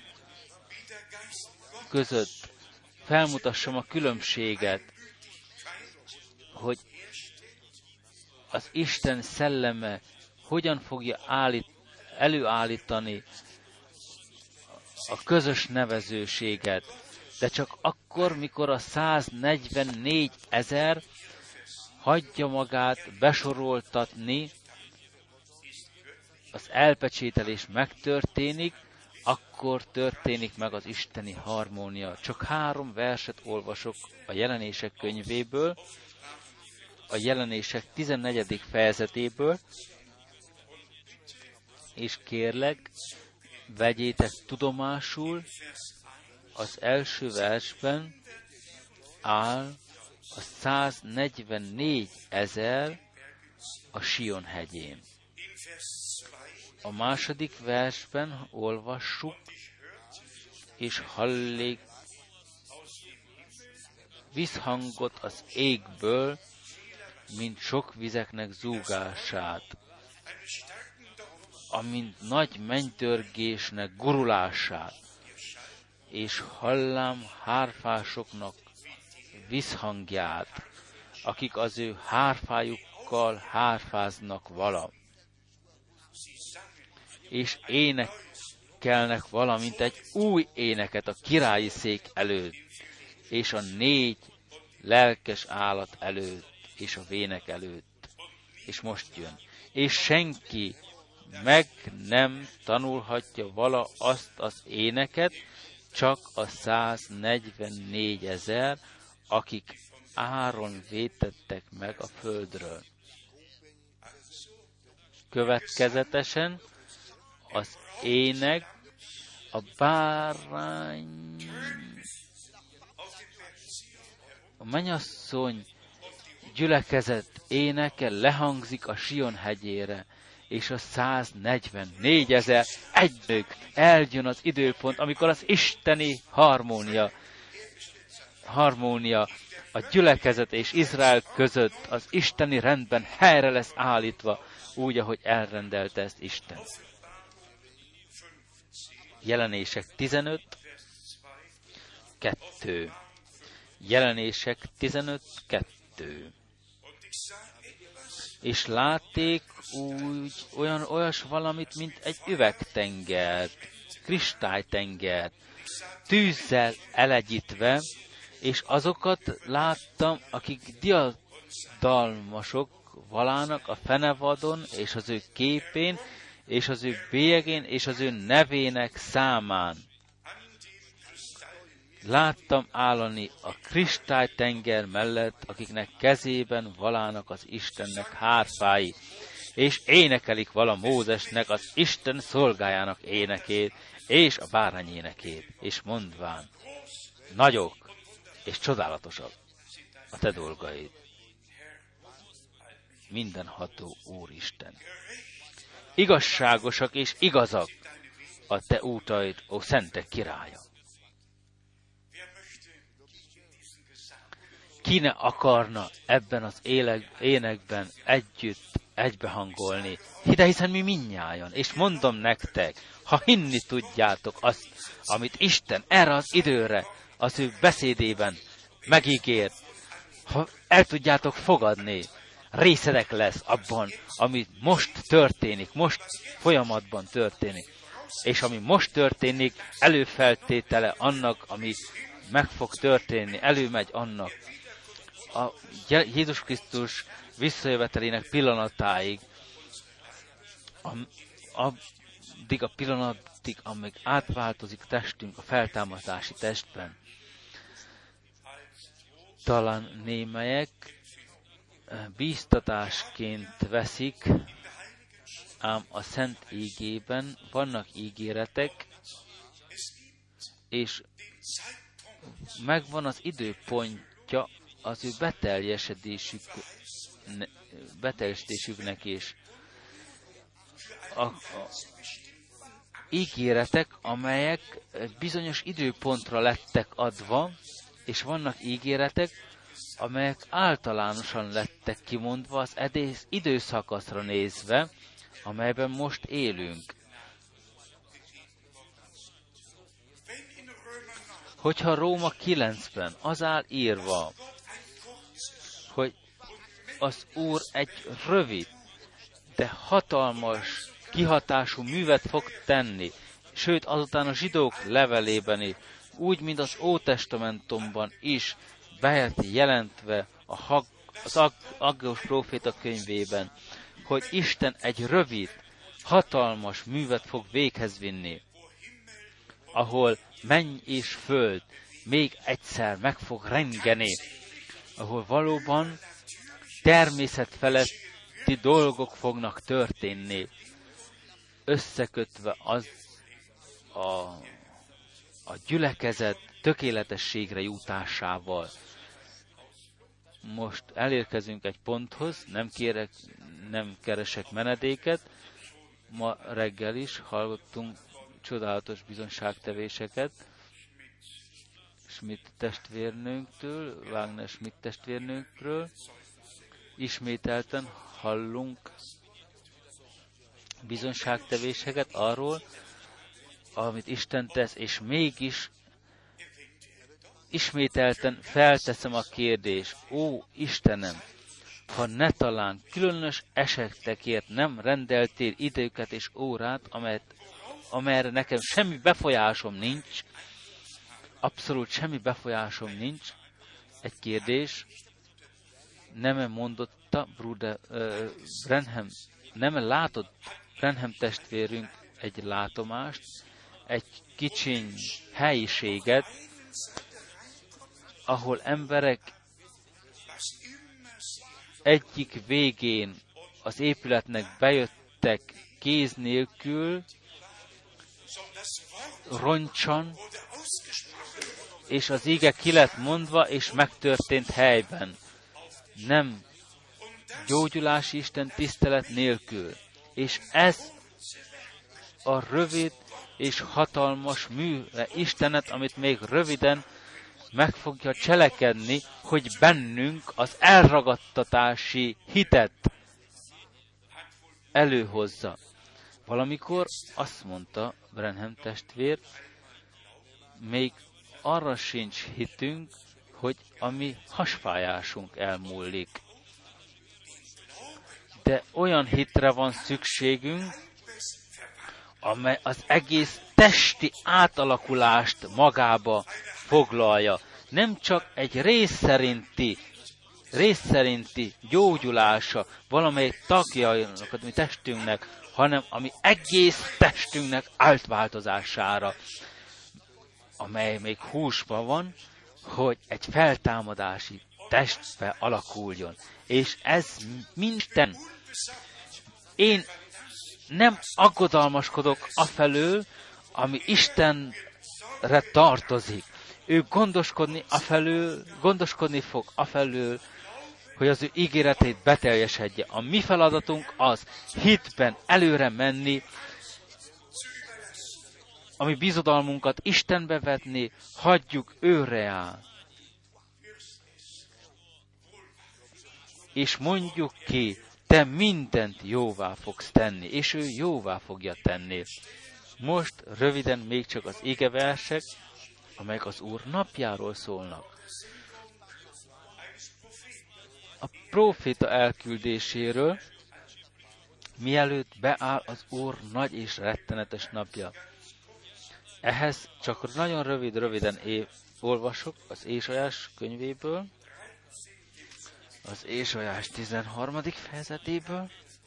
között felmutassam a különbséget, hogy az Isten szelleme hogyan fogja állít, előállítani a közös nevezőséget, de csak akkor, mikor a száznegyvennégy ezer hagyja magát besoroltatni, az elpecsételés megtörténik, akkor történik meg az isteni harmónia. Csak három verset olvasok a Jelenések könyvéből, a Jelenések tizennegyedik fejezetéből, és kérlek, vegyétek tudomásul, az első versben áll a száznegyvennégy ezer a Sion hegyén. A második versben olvassuk, és hallik visszhangot az égből, mint sok vizeknek zúgását, amint nagy mennydörgésnek gurulását, és hallám hárfásoknak visszhangját, akik az ő hárfájukkal hárfáznak vala. És énekelnek valamint egy új éneket a királyi szék előtt, és a négy lelkes állat előtt, és a vének előtt. És most jön. És senki meg nem tanulhatja vala azt az éneket, csak a száznegyvennégy ezer, akik áron vétettek meg a földről. Következetesen az ének, a bárány, a mennyasszony gyülekezet éneke lehangzik a Sion hegyére, és a száznegyvennégy ezer egynök eljön az időpont, amikor az isteni harmónia, harmónia a gyülekezet és Izrael között az isteni rendben helyre lesz állítva, úgy, ahogy elrendelte ezt Isten. Jelenések tizenöt kettő. Jelenések tizenöt kettő. És látték úgy olyan olyas valamit, mint egy üvegtengert, kristálytengert, tűzzel elegyítve, és azokat láttam, akik diadalmasok valának a fenevadon, és az ő képén, és az ő bélyegén, és az ő nevének számán. Láttam állani a kristálytenger mellett, akiknek kezében valának az Istennek hárfái, és énekelik vala Mózesnek, az Isten szolgájának énekét, és a bárány énekét, és mondván, nagyok és csodálatosak a te dolgaid, mindenható Úristen. Igazságosak és igazak a te útaid, ó szentek királya. ki ne akarna ebben az éleg, énekben együtt egybehangolni. De hiszen mi mindnyájan, és mondom nektek, ha hinni tudjátok azt, amit Isten erre az időre, az ő beszédében megígért, ha el tudjátok fogadni, részedek lesz abban, ami most történik, most folyamatban történik. És ami most történik, előfeltétele annak, ami meg fog történni, előmegy annak. A Jézus Krisztus visszajövetelének pillanatáig, addig a pillanatig, amíg átváltozik testünk a feltámadási testben. Talán némelyek bíztatásként veszik, ám a Szent Ígében vannak ígéretek, és megvan az időpontja az ő beteljesedésük, beteljesedésüknek is. A, a ígéretek, amelyek bizonyos időpontra lettek adva, és vannak ígéretek, amelyek általánosan lettek kimondva az edész időszakaszra nézve, amelyben most élünk. Hogyha Róma kilencben az áll írva, hogy az Úr egy rövid, de hatalmas, kihatású művet fog tenni, sőt azután a zsidók levelében is, úgy, mint az Ótestamentumban is be jelentve a Hag, az Aggós próféta könyvében, hogy Isten egy rövid, hatalmas művet fog véghez vinni, ahol menny és föld még egyszer meg fog rengeni, ahol valóban természetfeletti dolgok fognak történni, összekötve az a, a gyülekezet tökéletességre jutásával. Most elérkezünk egy ponthoz, nem kérek, nem keresek menedéket. Ma reggel is hallottunk csodálatos bizonságtevéseket Schmidt testvérnőnktől, Wagner Schmidt testvérnőnkről. Ismételten hallunk bizonságtevéseket arról, amit Isten tesz, és mégis ismételten felteszem a kérdést, ó Istenem, ha ne talán különös esetekért nem rendeltél időket és órát, amelyet, amelyre nekem semmi befolyásom nincs, abszolút semmi befolyásom nincs, egy kérdés, nem mondotta Bruder uh, Branham, nem látott Branham testvérünk egy látomást, egy kicsiny helyiséget, ahol emberek egyik végén az épületnek bejöttek kéz nélkül, roncsan, és az ige ki lett mondva, és megtörtént helyben. Nem gyógyulási Isten tisztelet nélkül. És ez a rövid és hatalmas műve Istenet, amit még röviden meg fogja cselekedni, hogy bennünk az elragadtatási hitet előhozza. Valamikor azt mondta Branham testvér, még arra sincs hitünk, hogy a mi hasfájásunk elmúlik. De olyan hitre van szükségünk, amely az egész testi átalakulást magába foglalja. Nem csak egy rész szerinti, rész szerinti gyógyulása valamelyik tagjainak, a mi testünknek, hanem ami egész testünknek átváltozására, amely még húsban van, hogy egy feltámadási testbe alakuljon. És ez minden. Én nem aggodalmaskodok afelől, ami Istenre tartozik. Ő gondoskodni afelől, gondoskodni fog afelől, hogy az ő ígéretét beteljesedje. A mi feladatunk az hitben előre menni, ami bizodalmunkat Istenbe vetni, hagyjuk őre áll. és mondjuk ki, te mindent jóvá fogsz tenni, és ő jóvá fogja tenni. Most röviden még csak az igeversek, amelyek az Úr napjáról szólnak. A próféta elküldéséről, mielőtt beáll az Úr nagy és rettenetes napja. Ehhez csak nagyon rövid-röviden é- olvasok az Ézsaiás könyvéből, az Ézsaiás tizenharmadik fejezetéből,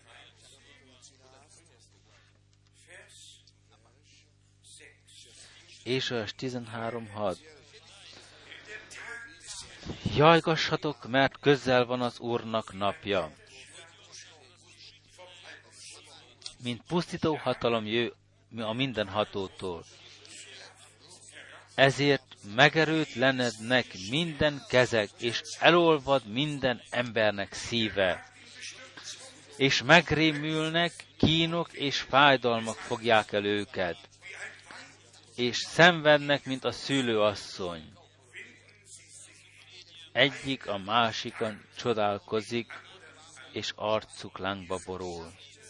Ézsaiás tizenhárom hat. Jajgassatok, mert közel van az Úrnak napja. Mint pusztító hatalom jö a mindenhatótól. Ezért megerőtlenednek minden kezek, és elolvad minden embernek szíve. És megrémülnek, kínok és fájdalmak fogják el őket. És szenvednek, mint a szülőasszony. Egyik a másikon csodálkozik, és arcuk lángba borul.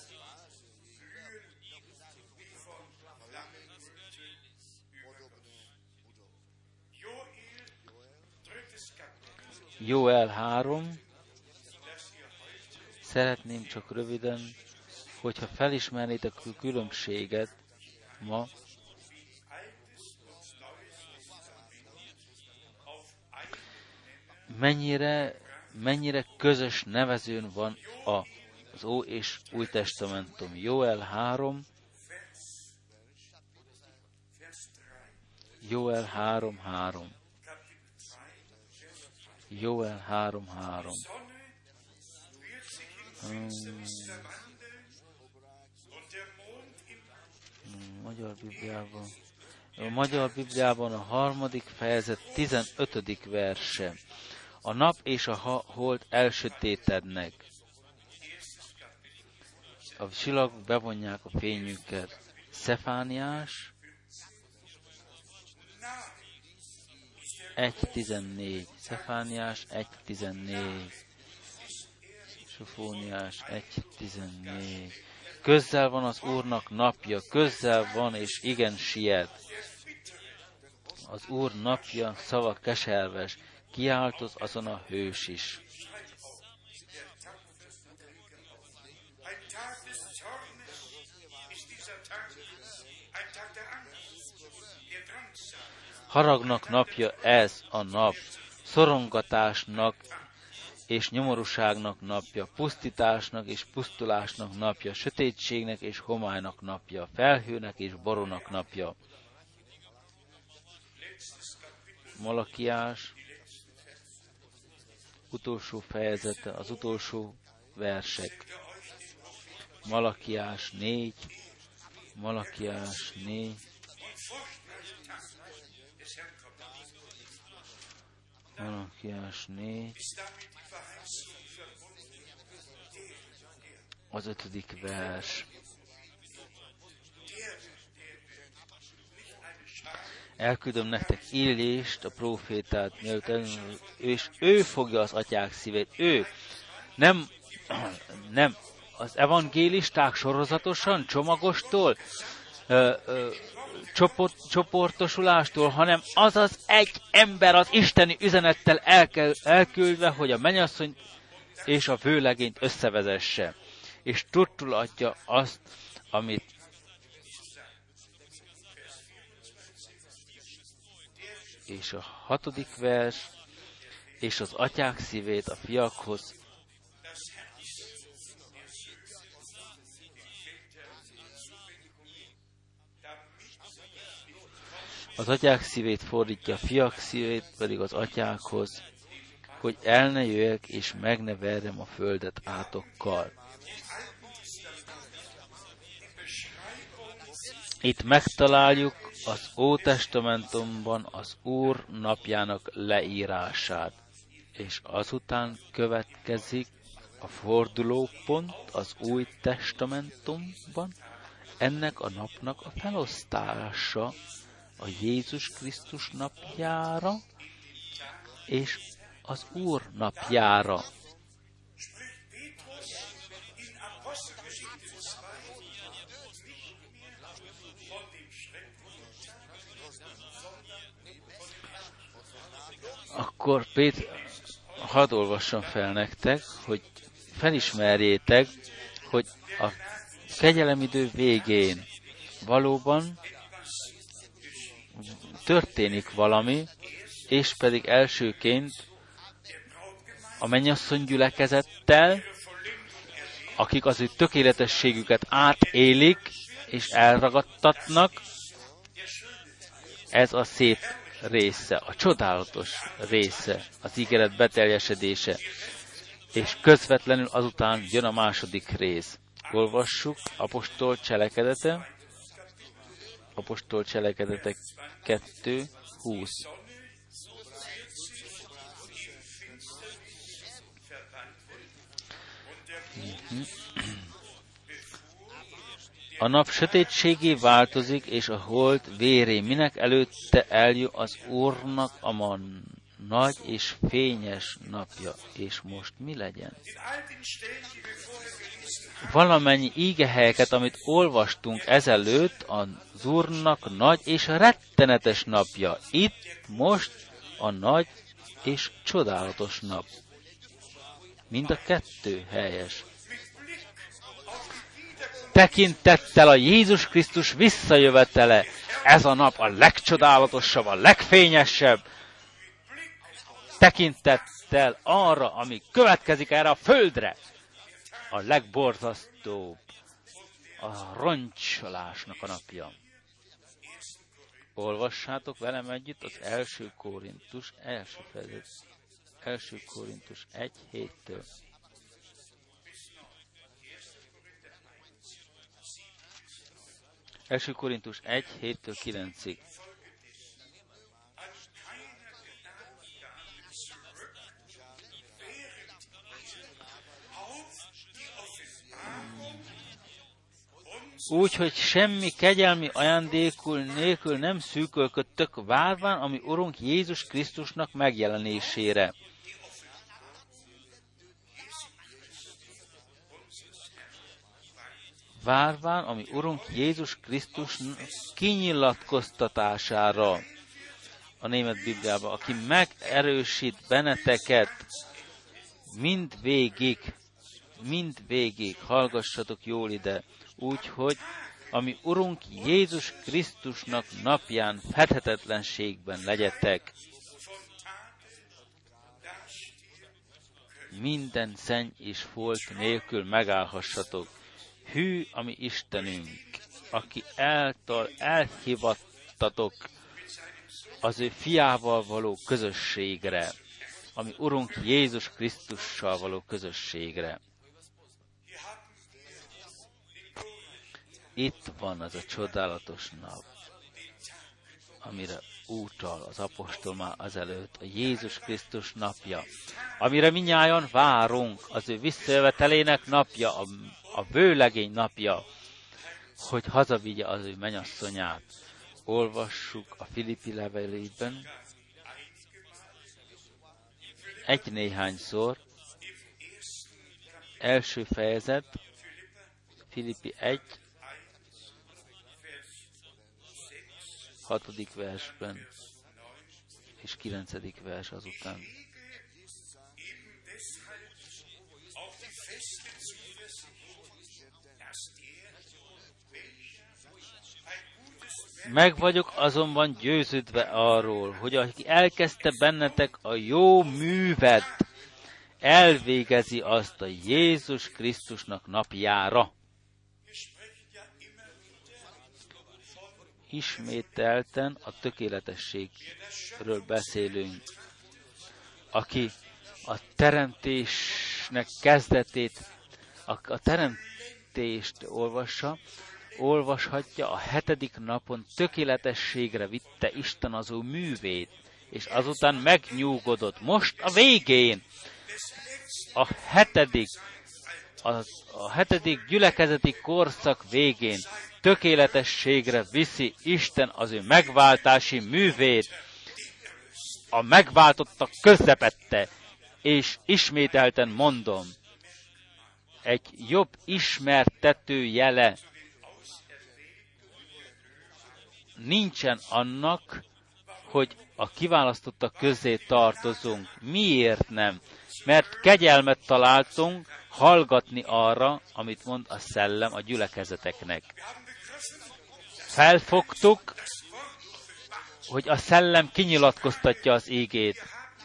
Jóel három. Szeretném csak röviden, hogyha felismernétek a különbséget ma, mennyire, mennyire közös nevezőn van a, az Ó és Új Testamentum. Jóel három. Jóel három három. Jóel három három. Hmm. Magyar Bibliában. A Magyar Bibliában a harmadik fejezet tizenötödik verse. A nap és a hold elsötétednek. A csillagok bevonják a fényüket. Szefániás egy tizennégy. Szefániás egy tizennégy. Sofóniás egy tizennégy. Közel van az Úrnak napja, közel van és igen siet. Az Úr napja szava keserves, kiáltoz azon a hős is. Haragnak napja ez a nap, szorongatásnak és nyomorúságnak napja, pusztításnak és pusztulásnak napja, sötétségnek és homálynak napja, felhőnek és borónak napja. Malakiás utolsó fejezete, az utolsó versek. Malakiás négy, Malakiás négy, Malakiás négy, az ötödik vers. Elküldöm nektek Illést, a prófétát, mielőtt és ő fogja az atyák szívét. Ő nem, nem az evangélisták sorozatosan, csomagostól, ö, ö, csoport, csoportosulástól, hanem az az egy ember az isteni üzenettel elkel, elküldve, hogy a mennyasszonyt és a vőlegényt összevezesse. És tudtul adja azt, amit és a hatodik vers, és az atyák szívét a fiakhoz, az atyák szívét fordítja, a fiak szívét pedig az atyákhoz, hogy el ne jöjjek és meg ne verjem a földet átokkal. Itt megtaláljuk az Ótestamentumban az Úr napjának leírását, és azután következik a fordulópont az Új Testamentumban, ennek a napnak a felosztása a Jézus Krisztus napjára és az Úr napjára. Akkor Péter, hadd olvassam fel nektek, hogy felismerjétek, hogy a kegyelemidő végén valóban történik valami, és pedig elsőként a mennyasszony gyülekezettel, akik az ő tökéletességüket átélik, és elragadtatnak, ez a szép része, a csodálatos része, az ígéret beteljesedése, és közvetlenül azután jön a második rész. Olvassuk Apostol cselekedete, Apostol cselekedetek kettő húsz. A nap sötétségé változik, és a hold véré, minek előtte eljön az Úrnak a man nagy és fényes napja. És most mi legyen? Valamennyi ígehelyeket, amit olvastunk ezelőtt, az Úrnak nagy és rettenetes napja. Itt most a nagy és csodálatos nap. Mind a kettő helyes. Tekintettel a Jézus Krisztus visszajövetele, ez a nap a legcsodálatosabb, a legfényesebb. Tekintettel arra, ami következik erre a földre, a legborzasztóbb, a roncsolásnak a napja. Olvassátok velem együtt az első Korintus, első fejezet, első Korintus egy héttől. első Korintus egy héttől kilencig. Úgy, hogy semmi kegyelmi ajándékul nélkül nem szűkölködtök, várván, ami Urunk Jézus Krisztusnak megjelenésére. Várván, ami Urunk Jézus Krisztus kinyilatkoztatására, a német Bibliában, aki megerősít benneteket mindvégig, mindvégig, hallgassatok jól ide, úgyhogy, ami Urunk Jézus Krisztusnak napján fedhetetlenségben legyetek. Minden szenny és folt nélkül megállhassatok. Hű, ami Istenünk, aki által elhivattatok az ő fiával való közösségre, ami Urunk Jézus Krisztussal való közösségre. Itt van az a csodálatos nap, amire utal az apostol már azelőtt, a Jézus Krisztus napja, amire minnyájan várunk, az ő visszajövetelének napja, a, a vőlegény napja, hogy hazavigye az ő mennyasszonyát. Olvassuk a Filippi levelében egy néhányszor, első fejezet, Filippi egy, hatodik versben, és kilencedik vers azután. Meg vagyok azonban győződve arról, hogy aki elkezdte bennetek a jó művet, elvégezi azt a Jézus Krisztusnak napjára. Ismételten a tökéletességről beszélünk, aki a teremtésnek kezdetét, a, a teremtést olvassa, olvashatja, a hetedik napon tökéletességre vitte Isten az ő művét, és azután megnyugodott. Most a végén, a hetedik, a, a hetedik gyülekezeti korszak végén tökéletességre viszi Isten az ő megváltási művét, a megváltottak közepette, és ismételten mondom, egy jobb ismertető jele nincsen annak, hogy a kiválasztottak közé tartozunk. Miért nem? Mert kegyelmet találtunk hallgatni arra, amit mond a szellem a gyülekezeteknek. Felfogtuk, hogy a szellem kinyilatkoztatja az ígét.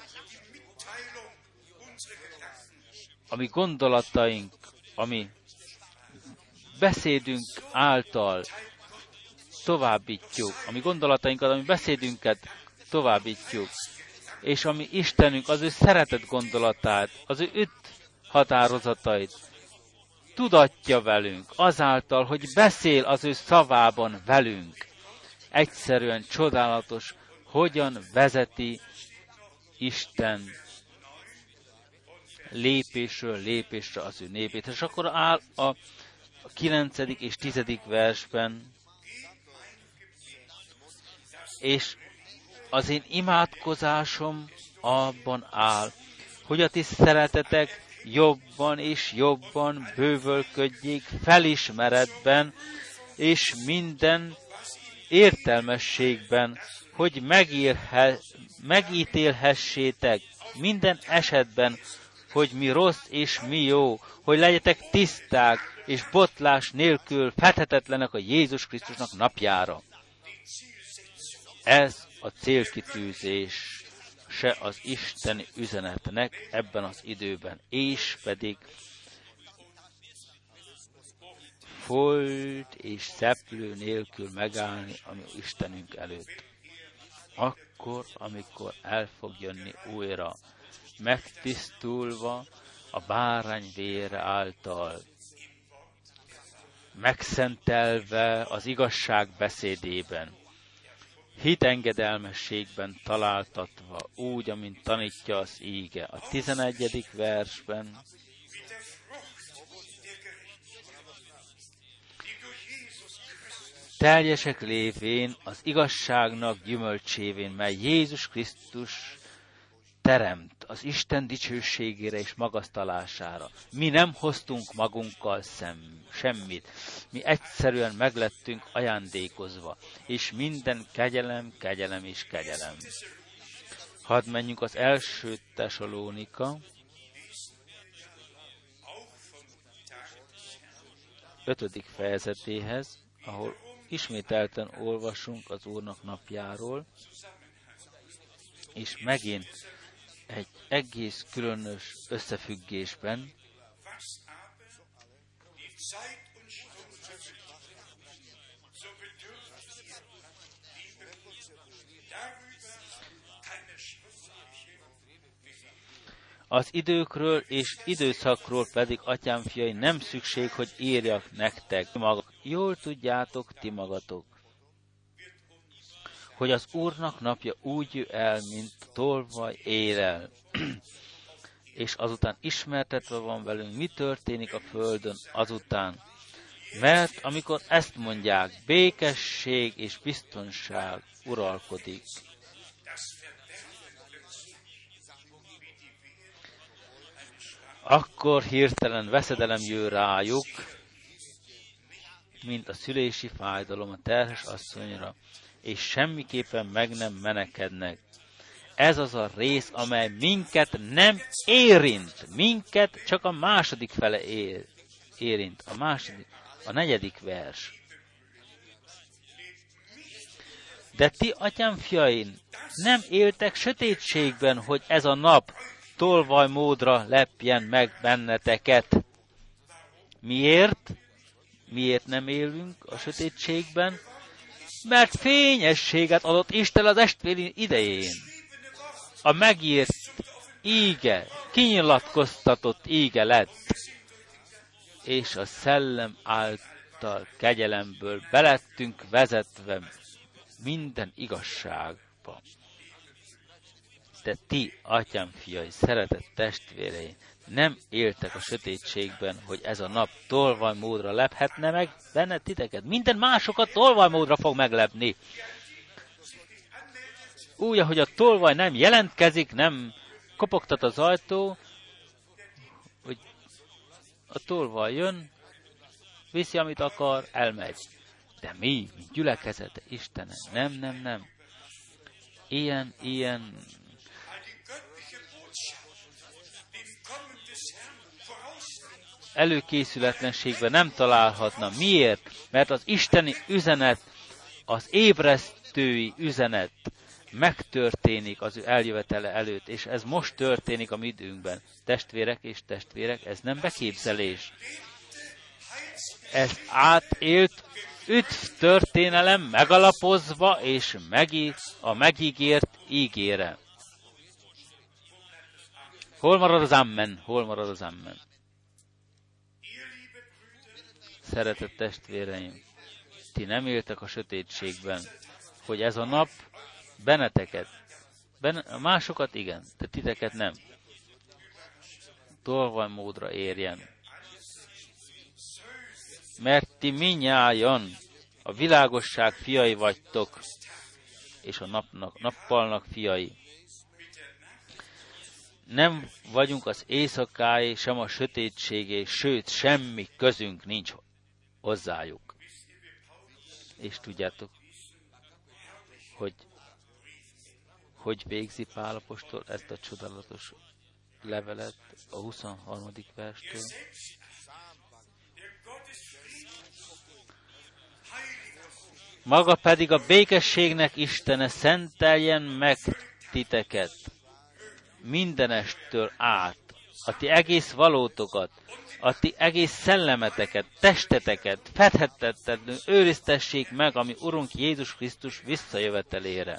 Ami gondolataink, ami beszédünk által továbbítjuk, ami gondolatainkat, ami beszédünket továbbítjuk, és ami Istenünk, az ő szeretett gondolatát, az ő üt határozatait tudatja velünk, azáltal, hogy beszél az ő szavában velünk. Egyszerűen csodálatos, hogyan vezeti Isten lépésről lépésre az ő népét. És akkor áll a kilencedik és tizedik versben, és az én imádkozásom abban áll, hogy a ti szeretetek jobban és jobban bővölködjék felismeretben, és minden értelmességben, hogy megírhe, megítélhessétek minden esetben, hogy mi rossz és mi jó, hogy legyetek tiszták és botlás nélkül fethetetlenek a Jézus Krisztusnak napjára. Ez a célkitűzés se az isteni üzenetnek ebben az időben, és pedig folt és szeplő nélkül megállni a mi Istenünk előtt. Akkor, amikor el fog jönni újra, megtisztulva a bárány vére által, megszentelve az igazság beszédében, hitengedelmességben találtatva, úgy, amint tanítja az íge. A tizenegyedik versben teljesek lévén az igazságnak gyümölcsévén, mely Jézus Krisztus teremt az Isten dicsőségére és magasztalására. Mi nem hoztunk magunkkal szem, semmit. Mi egyszerűen meglettünk ajándékozva, és minden kegyelem, kegyelem és kegyelem. Hadd menjünk az első Tesalónika ötödik fejezetéhez, ahol ismételten olvasunk az Úrnak napjáról, és megint egy egész különös összefüggésben, az időkről és időszakról pedig, atyám fiai, nem szükség, hogy írjak nektek. Jól tudjátok ti magatok, hogy az Úrnak napja úgy jön el, mint tolvaj éjjel, és azután ismertetve van velünk, mi történik a földön azután. Mert amikor ezt mondják, békesség és biztonság uralkodik. Akkor hirtelen veszedelem jön rájuk, mint a szülési fájdalom a terhes asszonyra, és semmiképpen meg nem menekednek. Ez az a rész, amely minket nem érint. Minket csak a második fele ér, érint. A második, a negyedik vers. De ti, atyám fiain, nem éltek sötétségben, hogy ez a nap tolvajmódra lepjen meg benneteket. Miért? Miért nem élünk a sötétségben? Mert fényességet adott Isten az estvéli idején. A megírt íge, kinyilatkoztatott íge lett, és a szellem által kegyelemből belettünk vezetve minden igazságba. De ti, atyám fiai, szeretett testvéreim, nem éltek a sötétségben, hogy ez a nap tolvajmódra lephetne meg benne titeket. Minden másokat tolvajmódra fog meglepni. Úgy, ahogy a tolvaj nem jelentkezik, nem kopogtat az ajtó, hogy a tolvaj jön, viszi, amit akar, elmegy. De mi, mint gyülekezete Istenem, nem, nem, nem. ilyen, ilyen előkészületlenségben nem találhatna. Miért? Mert az isteni üzenet, az ébresztői üzenet megtörténik az ő eljövetele előtt, és ez most történik a mi időnkben. Testvérek és testvérek, ez nem beképzelés. Ez átélt üdv történelem megalapozva és megi, a megígért ígére. Hol marad az amen? Hol marad az amen? Szeretett testvéreim, ti nem éltek a sötétségben, hogy ez a nap benneteket, benne, másokat igen, de titeket nem. Tolvajmódra érjen. Mert ti minnyájan a világosság fiai vagytok, és a napnak, nappalnak fiai. Nem vagyunk az éjszakáé, sem a sötétségé, sőt, semmi közünk nincs hozzájuk. És tudjátok, hogy hogy végzi Pál apostol ezt a csodálatos levelet a huszonharmadik verstől. Maga pedig a békességnek Istene szenteljen meg titeket mindenestől át, a ti egész valótokat, a ti egész szellemeteket, testeteket fedhetetlenül őriztessék meg, ami Urunk Jézus Krisztus visszajövetelére.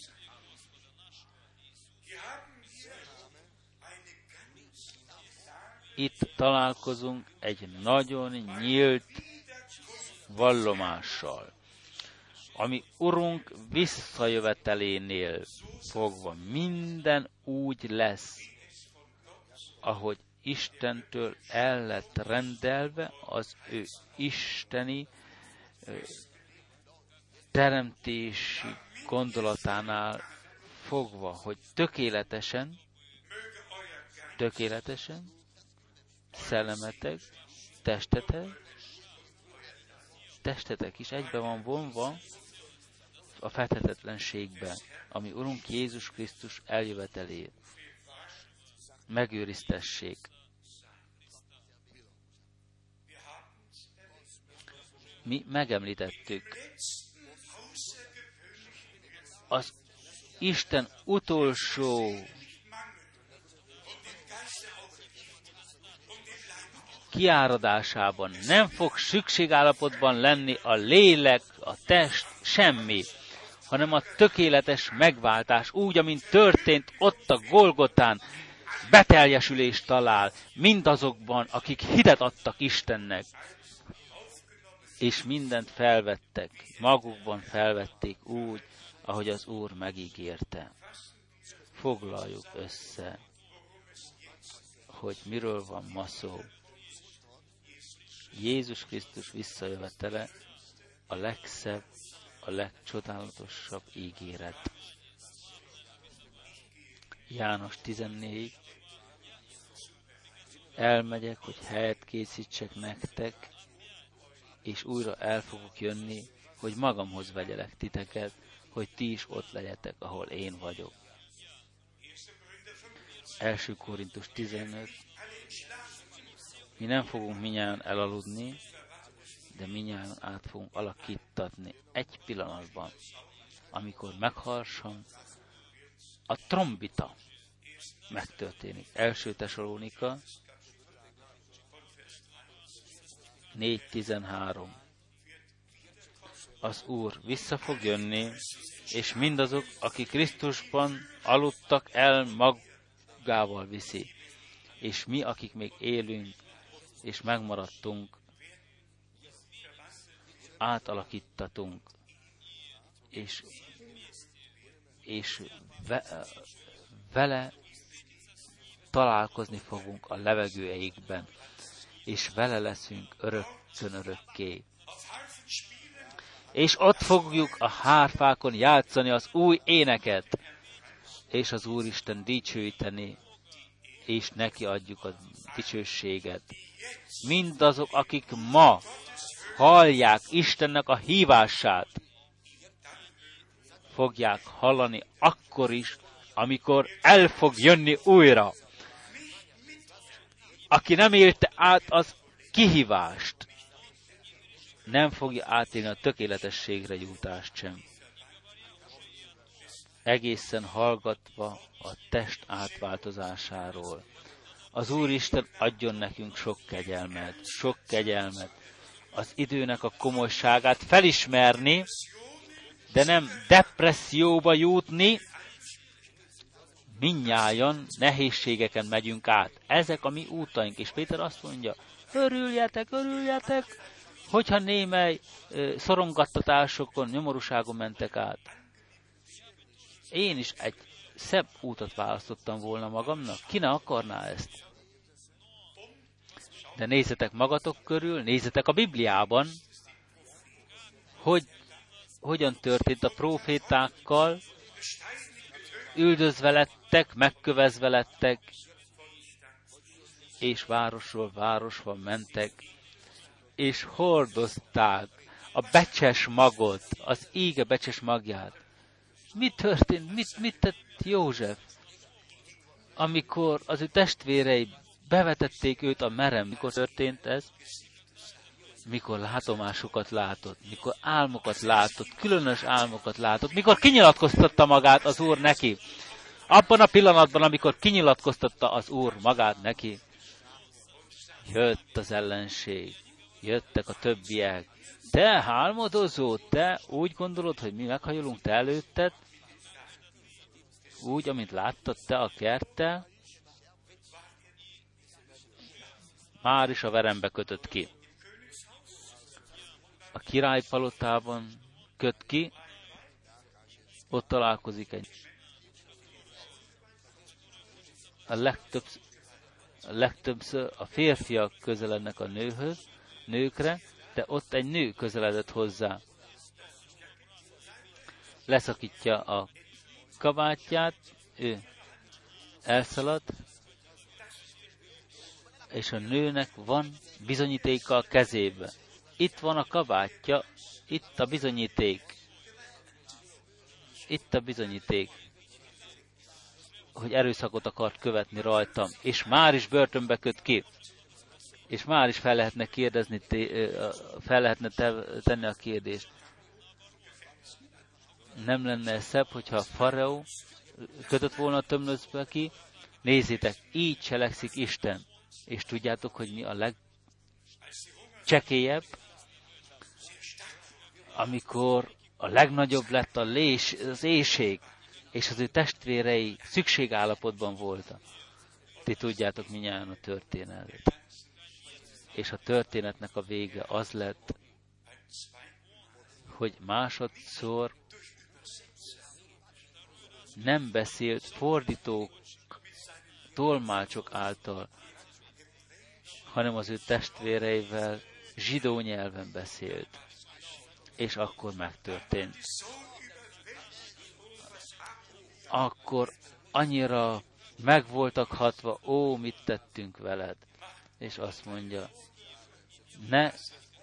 Itt találkozunk egy nagyon nyílt vallomással, ami Urunk visszajövetelénél fogva minden úgy lesz, ahogy Istentől el lett rendelve az ő isteni ö, teremtési gondolatánál fogva, hogy tökéletesen, tökéletesen, szellemetek, testetek, testetek is egybe van vonva a fedhetetlenségbe, ami Urunk Jézus Krisztus eljövetelé. Megőriztessék. Mi megemlítettük az Isten utolsó kiáradásában nem fog szükségállapotban lenni a lélek, a test, semmi, hanem a tökéletes megváltás, úgy, amint történt ott a Golgotán, beteljesülést talál mindazokban, akik hitet adtak Istennek, és mindent felvettek, magukban felvették úgy, ahogy az Úr megígérte. Foglaljuk össze, hogy miről van ma szó. Jézus Krisztus visszajövetele a legszebb, a legcsodálatosabb ígéret. János tizennégy. Elmegyek, hogy helyet készítsek nektek, és újra el fogok jönni, hogy magamhoz vegyelek titeket, hogy ti is ott legyetek, ahol én vagyok. Első Korintus tizenöt. Mi nem fogunk minnyáján elaludni, de minnyáján át fogunk alakítatni egy pillanatban, amikor megharsan a trombita megtörténik. Első Tesalónika négy tizenhárom. Az Úr vissza fog jönni, és mindazok, akik Krisztusban aludtak el, magával viszi. És mi, akik még élünk, és megmaradtunk, átalakítatunk, és, és ve, vele találkozni fogunk a levegőeikben, és vele leszünk örökkön örökké. És ott fogjuk a hárfákon játszani az új éneket, és az Úristen dicsőíteni, és neki adjuk a dicsőséget. Mindazok, akik ma hallják Istennek a hívását, fogják hallani akkor is, amikor el fog jönni újra. Aki nem élte át az kihívást, nem fogja átélni a tökéletességre jutást sem. Egészen hallgatva a test átváltozásáról. Az Úristen adjon nekünk sok kegyelmet, sok kegyelmet, az időnek a komolyságát felismerni, de nem depresszióba jutni, mindnyájan nehézségeken megyünk át. Ezek a mi útaink, és Péter azt mondja, örüljetek, örüljetek, hogyha némely ö, szorongattatásokon, nyomorúságon mentek át. Én is egy szebb útat választottam volna magamnak. Ki ne akarná ezt? De nézzetek magatok körül, nézzetek a Bibliában, hogy hogyan történt a prófétákkal, üldözve lettek, megkövezve lettek, és városról városba mentek, és hordozták a becses magot, az íge becses magját. Mi történt? Mit, mit tett József, amikor az ő testvérei bevetették őt a merem? Mikor történt ez? Mikor látomásokat látott, mikor álmokat látott, különös álmokat látott, mikor kinyilatkoztatta magát az Úr neki. Abban a pillanatban, amikor kinyilatkoztatta az Úr magát neki, jött az ellenség, jöttek a többiek. Te álmodozó, te úgy gondolod, hogy mi meghajolunk te előtted? Úgy, amint láttad te a kerttel? Már is a verembe kötött ki. A királypalotában köt ki, ott találkozik egy. A legtöbbször, a legtöbbször a férfiak közelednek a nőhöz, nőkre, de ott egy nő közeledett hozzá. Leszakítja a kabátját, ő elszalad, és a nőnek van bizonyítéka a kezébe. Itt van a kabátja, itt a bizonyíték. Itt a bizonyíték, hogy erőszakot akart követni rajtam, és már is börtönbe köt ki. És már is fel lehetne kérdezni, fel lehetne tenni a kérdést. Nem lenne szebb, hogyha a faraó kötött volna a tömlöcbe ki? Nézzétek, így cselekszik Isten. És tudjátok, hogy mi a legcsekélyebb? Amikor a legnagyobb lett a lés, az éhség, és az ő testvérei szükségállapotban voltak. Ti tudjátok mindjárt a történetet. És a történetnek a vége az lett, hogy másodszor nem beszélt fordítók, tolmácsok által, hanem az ő testvéreivel zsidó nyelven beszélt. És akkor megtörtént. Akkor annyira meg voltak hatva, ó, mit tettünk veled? És azt mondja, ne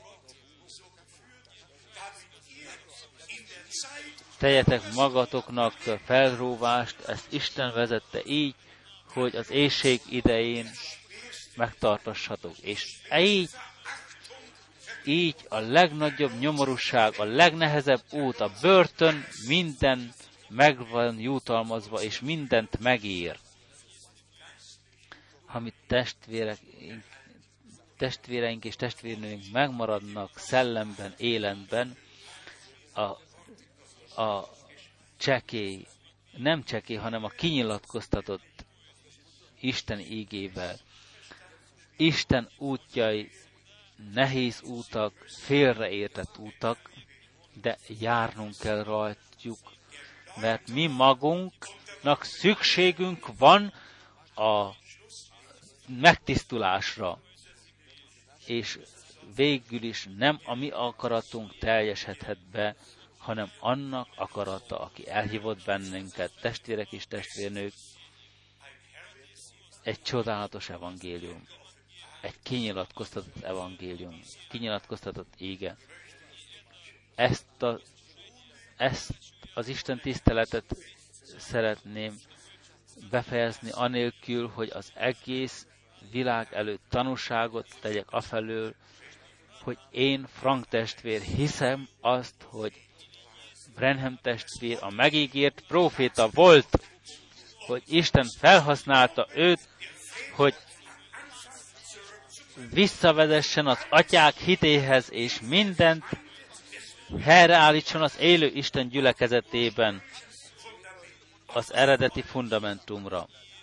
tegyetek magatoknak felróvást, ezt Isten vezette így, hogy az éhség idején megtartassatok. És így, így a legnagyobb nyomorúság, a legnehezebb út, a börtön minden meg van jutalmazva, és mindent megír. Ha mi testvérek, testvéreink és testvérnőink megmaradnak szellemben, életben, a, a csekély, nem csekély, hanem a kinyilatkoztatott Isten ígével. Isten útjai nehéz útak, félreértett útak, de járnunk kell rajtjuk, mert mi magunknak szükségünk van a megtisztulásra, és végül is nem a mi akaratunk teljesedhet be, hanem annak akarata, aki elhívott bennünket, testvérek és testvérnők, egy csodálatos evangélium, egy kinyilatkoztatott evangélium, kinyilatkoztatott ége. Ezt a, ezt az Isten tiszteletet szeretném befejezni anélkül, hogy az egész világ előtt tanúságot tegyek afelől, hogy én, Frank testvér, hiszem azt, hogy Branham testvér a megígért próféta volt, hogy Isten felhasználta őt, hogy visszavezessen az atyák hitéhez, és mindent helyreállítson az élő Isten gyülekezetében az eredeti fundamentumra,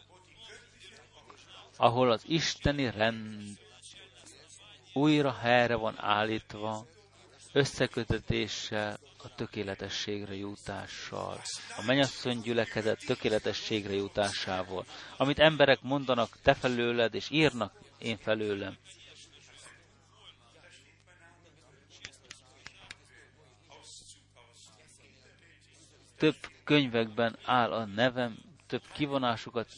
ahol az isteni rend újra helyre van állítva, összekötetéssel, a tökéletességre jutással, a mennyasszony gyülekezet tökéletességre jutásával, amit emberek mondanak te felőled, és írnak én felőlem. Több könyvekben áll a nevem, több kivonásukat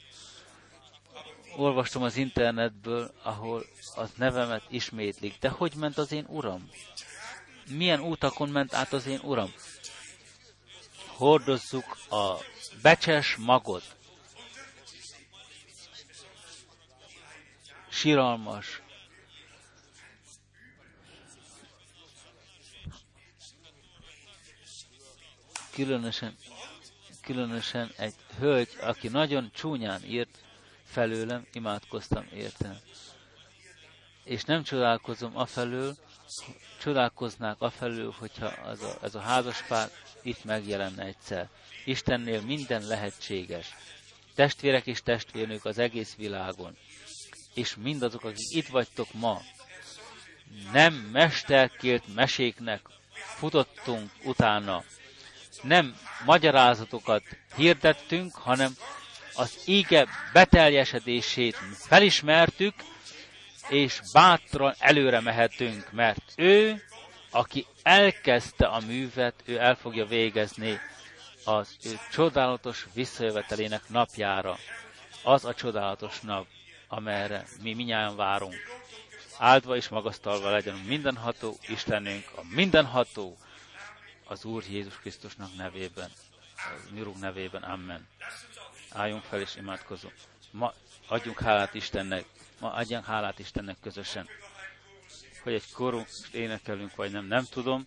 olvastam az internetből, ahol az nevemet ismétlik. De hogy ment az én uram? Milyen útakon ment át az én uram? Hordozzuk a becses magot. Siralmas. Különösen, különösen egy hölgy, aki nagyon csúnyán írt felőlem, imádkoztam érte. És nem csodálkozom afelől, csodálkoznák afelől, hogyha az a, ez a házaspár itt megjelenne egyszer. Istennél minden lehetséges. Testvérek és testvérnők az egész világon. És mindazok, akik itt vagytok ma, nem mesterkélt meséknek futottunk utána. Nem magyarázatokat hirdettünk, hanem az íge beteljesedését felismertük, és bátran előre mehetünk, mert ő, aki elkezdte a művet, ő el fogja végezni az ő csodálatos visszajövetelének napjára. Az a csodálatos nap, amelyre mi minnyáján várunk. Áldva és magasztalva legyen mindenható Istenünk, a mindenható az Úr Jézus Krisztusnak nevében, az mi Urunk nevében. Amen. Álljunk fel és imádkozunk. Ma adjunk hálát Istennek, ma adjunk hálát Istennek közösen. Hogy egy korunk énekelünk, vagy nem, nem tudom.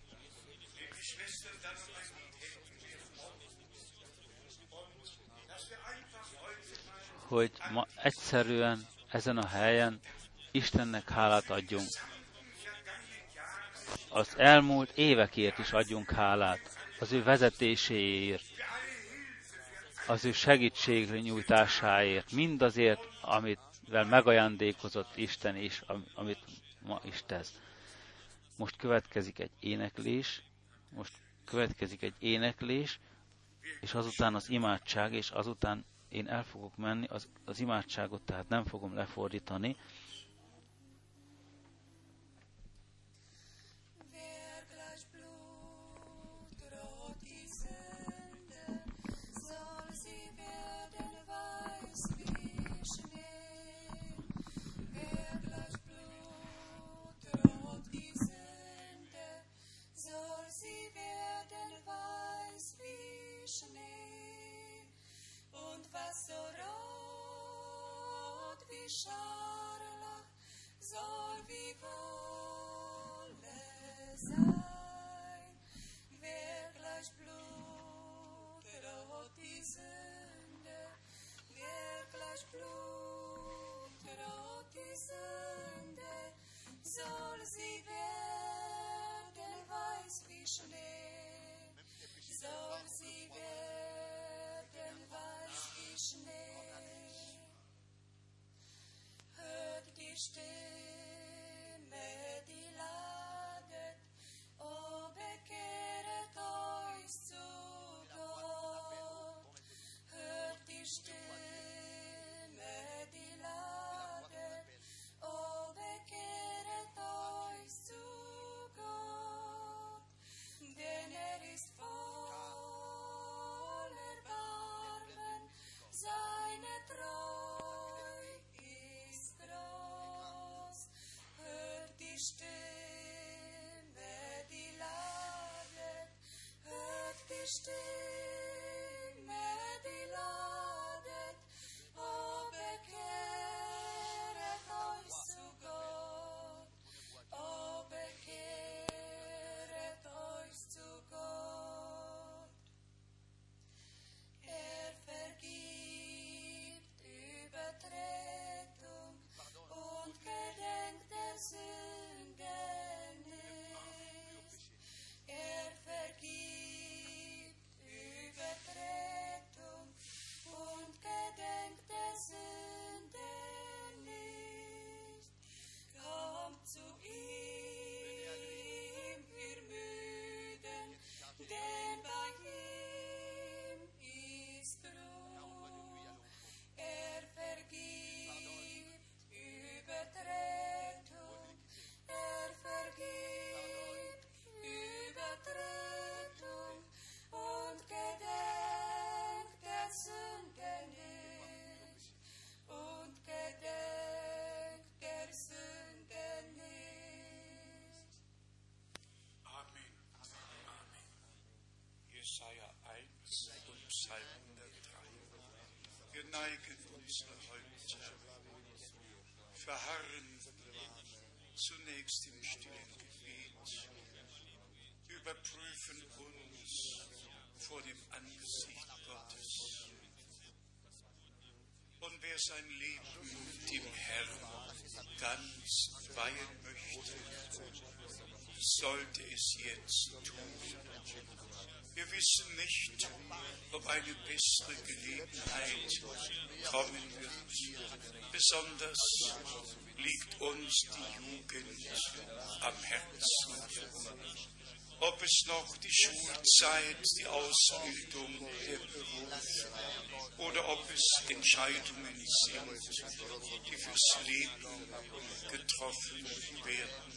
Hogy ma egyszerűen ezen a helyen Istennek hálát adjunk. Az elmúlt évekért is adjunk hálát, az ő vezetéséért, az ő segítségre nyújtásáért, mindazért, amivel megajándékozott Isten is, amit ma is tesz. Most következik egy éneklés, most következik egy éneklés, és azután az imádság, és azután én el fogok menni, az, az imádságot tehát nem fogom lefordítani. Scharlach soll wie Wolle sein, wer gleich blutrot die Sünde, wer gleich blutrot die Sünde, soll sie werden weiß wie Schnee, soll sie werden weiß wie Schnee. Stimme, die ladet, o bekehret euch zu Gott. Hört die Stimme, die ladet, o bekehret euch zu Gott. Denn er ist voll Erbarmen, seine Treu ist groß. Stimme, die ladet, oh, bekehret euch zu Gott, oh, bekehret euch zu Gott. Er vergibt Übertretung und gedenkt der Sünden nicht. Er vergibt Übertretung und gedenkt der Sünden nicht. Kommt zu ihm, ihr Müden, denn bei ihm ist Ruhe. Er vergibt Übertretung, er vergibt Übertretung und gedenkt der Sünde nicht, und gedenkt der Sünde nicht. Amen. Amen. Jesaja eins und Psalm hundertdrei. Wir neigen unsere Häupter, verharren zunächst im stillen Gebet, überprüfen uns vor dem Angesicht Gottes. Und wer sein Leben dem Herrn ganz weihen möchte, sollte es jetzt tun. Wir wissen nicht, ob eine bessere Gelegenheit kommen wird. Besonders liegt uns die Jugend am Herzen. Ob es noch die Schulzeit, die Ausbildung, der Beruf oder ob es Entscheidungen sind, die fürs Leben getroffen werden.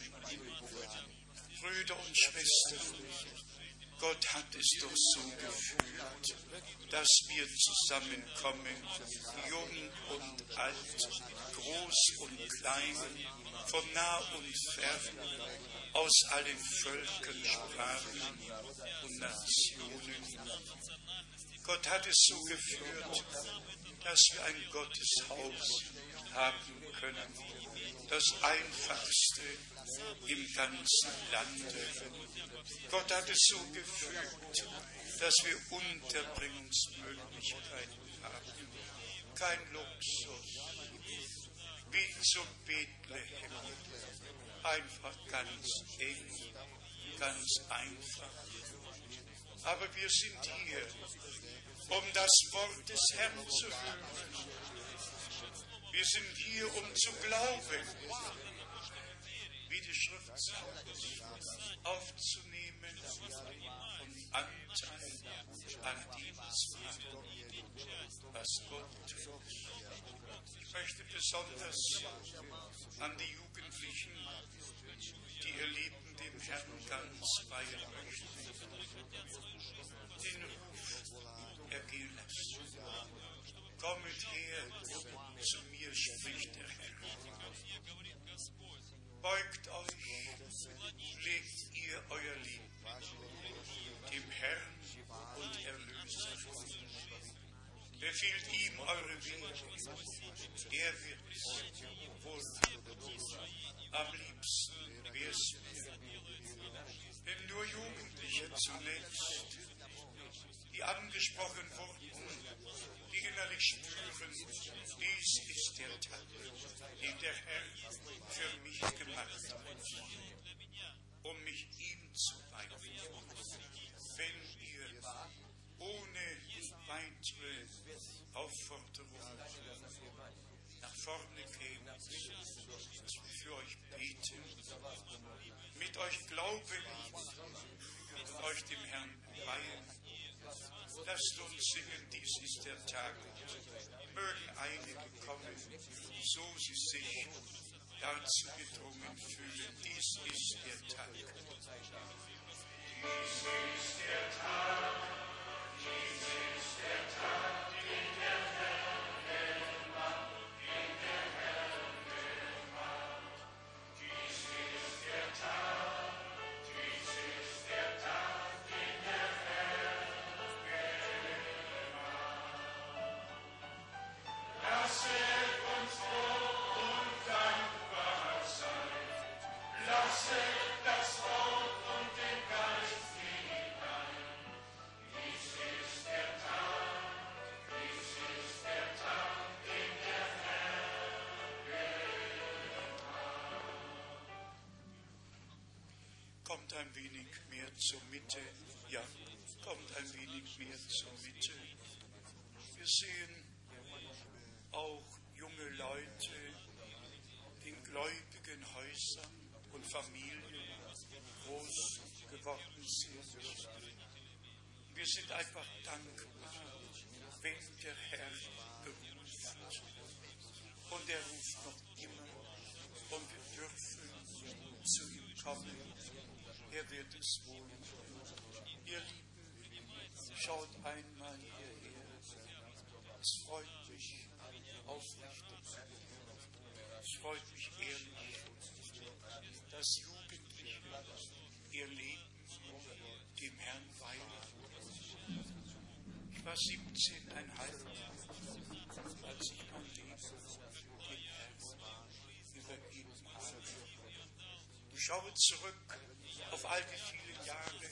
Brüder und Schwestern, Gott hat es doch so geführt, dass wir zusammenkommen, jung und alt, groß und klein, von nah und fern, aus allen Völkern, Sprachen und Nationen. Gott hat es so geführt, dass wir ein Gotteshaus haben können, das einfachste im ganzen Lande. Gott hat es so gefügt, dass wir Unterbringungsmöglichkeiten haben. Kein Luxus, wie zu Bethlehem. Einfach ganz eng, ganz einfach. Aber wir sind hier, um das Wort des Herrn zu hören. Wir sind hier, um zu glauben, wie die Schrift sagt, aufzunehmen und Anteil an dem zu haben, was Gott tut. Ich möchte besonders an die Jugendlichen, die ihr Leben dem Herrn ganz weihen möchten, den Ruf ergehen lassen. Kommet her, zu mir spricht der Herr. Beugt euch, legt ihr euer Leben dem Herrn und Erlöser vor. Befiehlt ihm eure Wege, er wird es wohl tun. Am liebsten wär's mir, wenn nur Jugendliche zunächst, die angesprochen wurden, die innerlich spüren, dies ist der Tag, den der Herr für mich gemacht hat, um mich ihm zu weihen. Wenn ihr ohne weitere Aufforderung nach vorne kämt, für euch beten, mit euch glauben und euch dem Herrn weihen. Lasst uns singen, dies ist der Tag. Mögen einige kommen, so sie sich dazu gedrungen fühlen. Dies ist der Tag. Dies ist der Tag. Dies ist der Tag, den der Herr gemacht, den der Herr gemacht. Dies ist der Tag. Dies ist der Tag, den der Herr Kommt ein wenig mehr zur Mitte. Ja, kommt ein wenig mehr zur Mitte. Wir sehen auch junge Leute in gläubigen Häusern und Familien groß geworden sind. Wir sind einfach dankbar, wenn der Herr beruft. Und er ruft noch immer. Und wir dürfen zu ihm kommen. Er wird es wohl. Ihr Lieben, schaut einmal hierher. Es freut mich aufrichtig. Es freut mich ehrlich, dass Jugendliche ihr Leben dem Herrn weihen. Ich war siebzehneinhalb, als ich mein Leben dem Herrn übergeben habe. Ich schaue zurück auf all die vielen Jahre,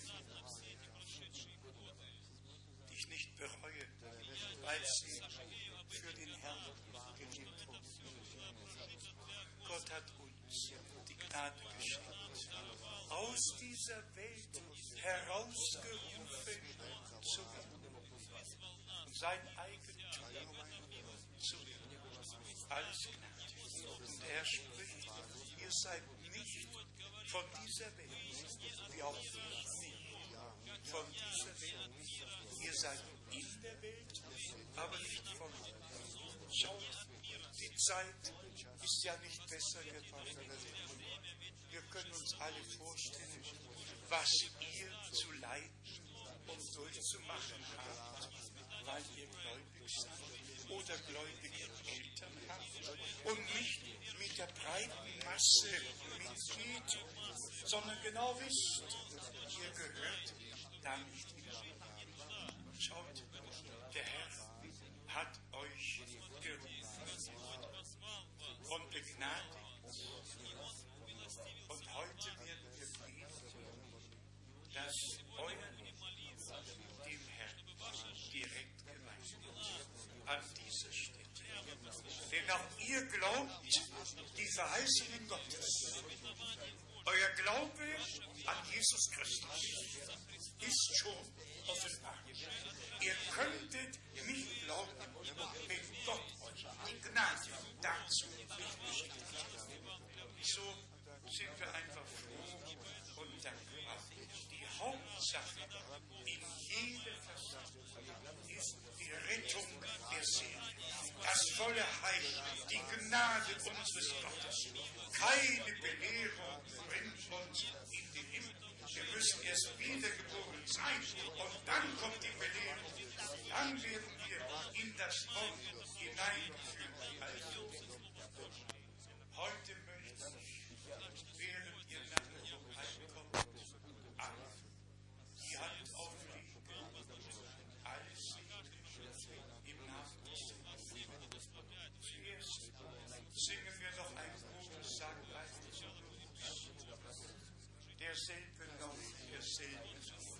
die ich nicht bereue, weil sie für den Herrn gelebt wurden. Gott hat uns die Gnade geschenkt, aus dieser Welt herausgerufen zu werden und sein Eigentum zu werden. Alles Gnade. Und er spricht, ihr seid nicht von dieser Welt, wie auch nicht von dieser Welt. Ihr seid in der Welt, aber nicht von der Welt. Schaut, die Zeit ist ja nicht besser geworden. Wir können uns alle vorstellen, was ihr zu leiden und durchzumachen habt, weil ihr gläubig seid oder gläubige Eltern habt und nicht mit der breiten Masse mitgeht, sondern genau wisst, ihr gehört da nicht hin. Schaut, der Herr hat euch gerufen und begnadigt. Und heute werden wir beten, dass euer Leben dem Herrn direkt geweiht wird. An dieser Stätte. Denn auch ihr glaubt die Verheißungen Gottes. Euer Glaube an Jesus Christus ist schon offenbar. Ihr könntet nicht glauben, wenn Gott euch die Gnade dazu nicht beschenkt hat. So sind wir einfach froh und dankbar. Die Hauptsache in jeder Versammlung ist die Rettung der Seele, das volle Heil, die Gnade unseres Gottes. Keine Belehrung bringt uns in den Himmel. Wir müssen erst wiedergeboren sein und dann kommt die Belehrung. Dann werden wir in das Wort hineingeführt. Also, heute möchte ich, während ihr nachher heimkommt, alle die Hand auflegen, alles im Namen des Herrn. Zuerst singen wir noch ein gutes Sanglein zum Gruß. Derselbe noch, derselbe noch.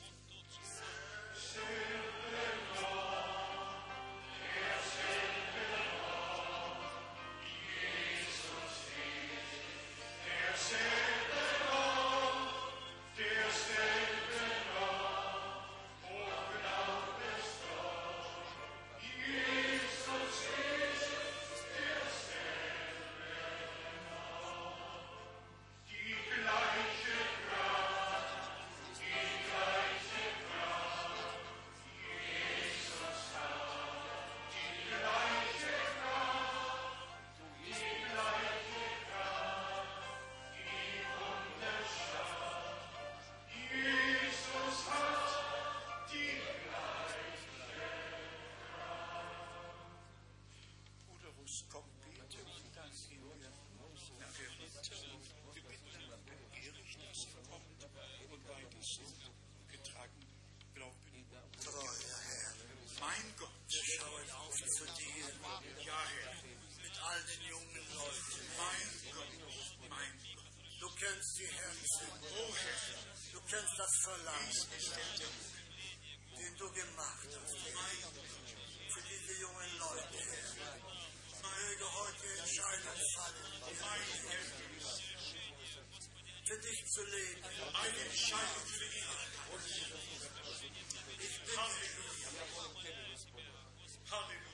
Die Herzen, oh Herr, du kennst das Verlangen, den du gemacht hast, für diese jungen Leute, Herr. Möge heute Entscheidung fallen, für dich zu leben. Eine Entscheidung für die Ewigkeit. Ich bin Halleluja. Halleluja.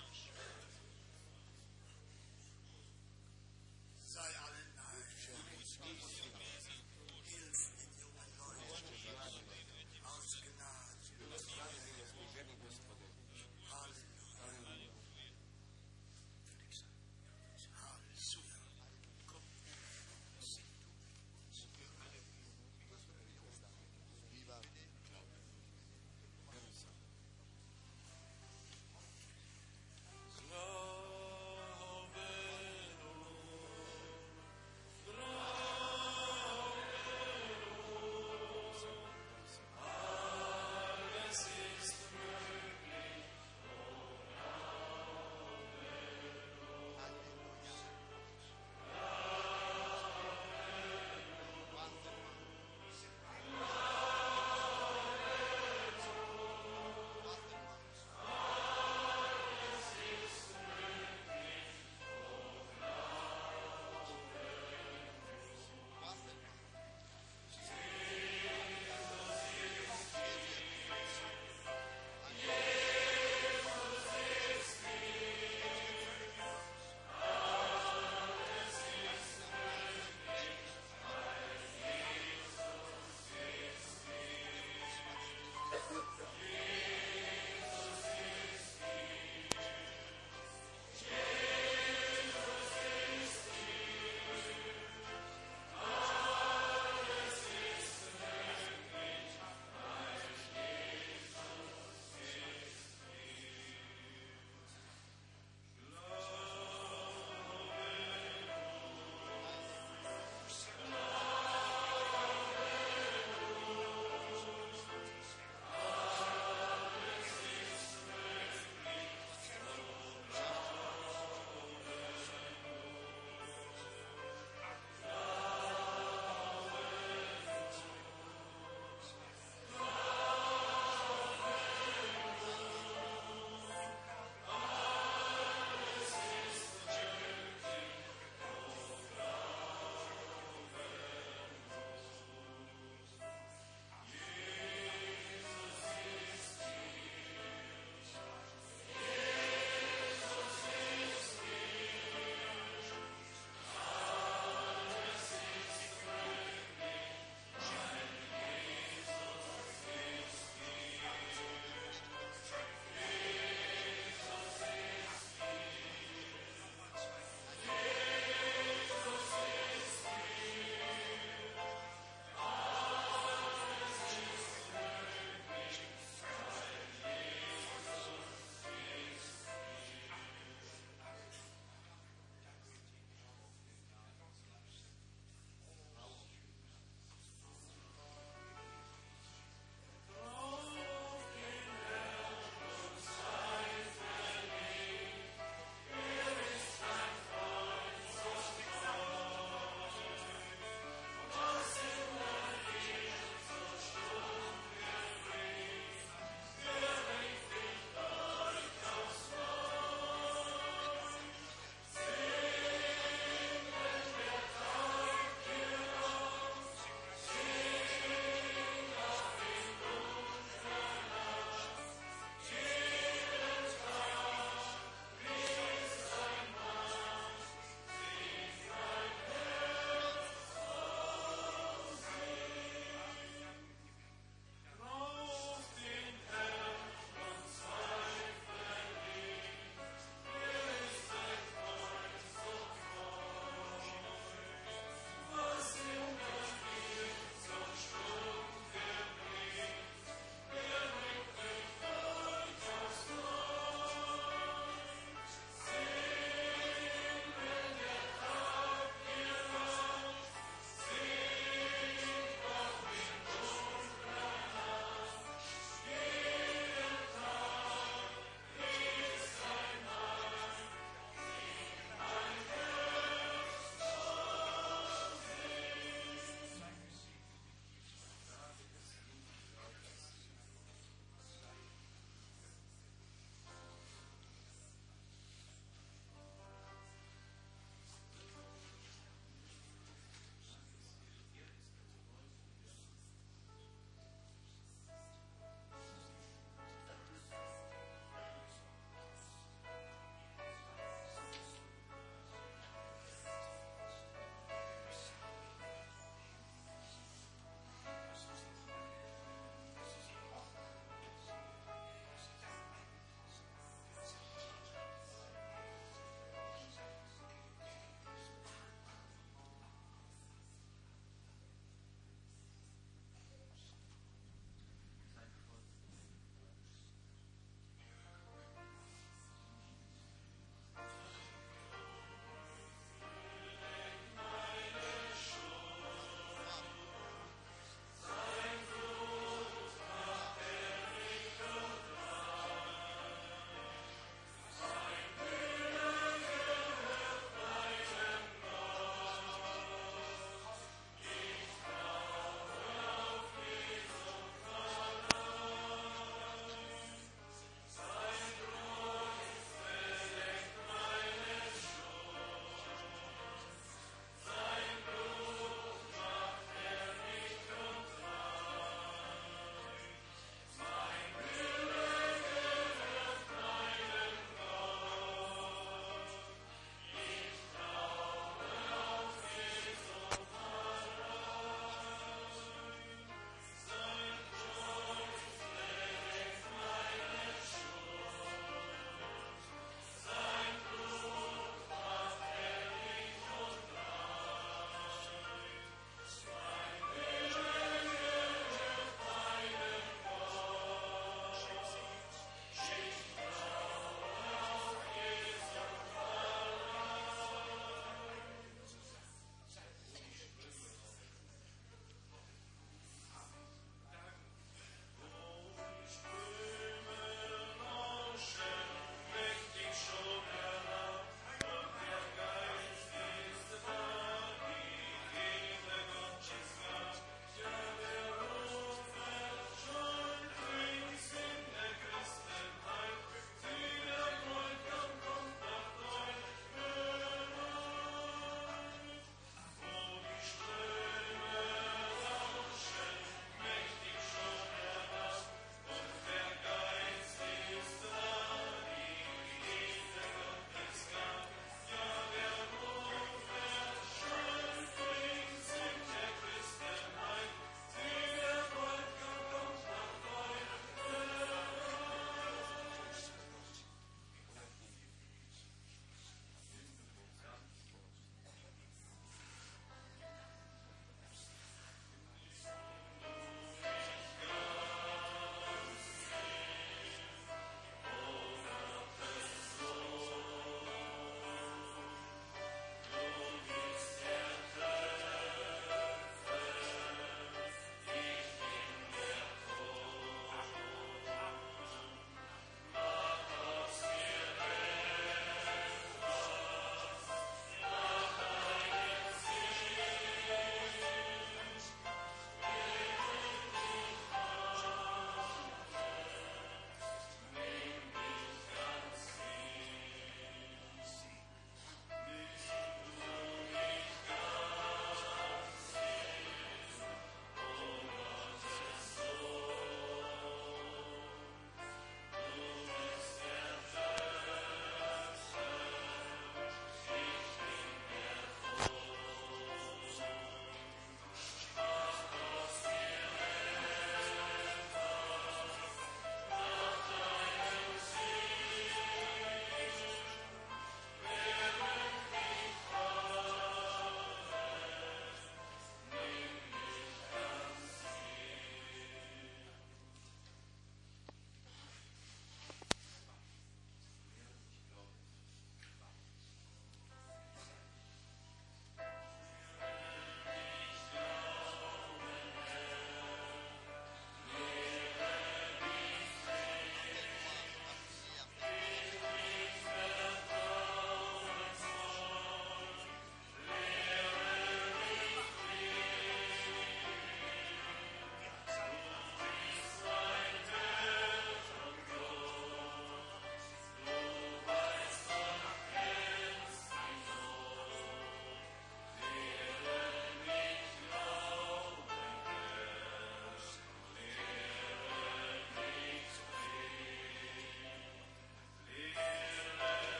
sei allen nahe. Hilf den jungen Leuten aus Gnade. Halleluja.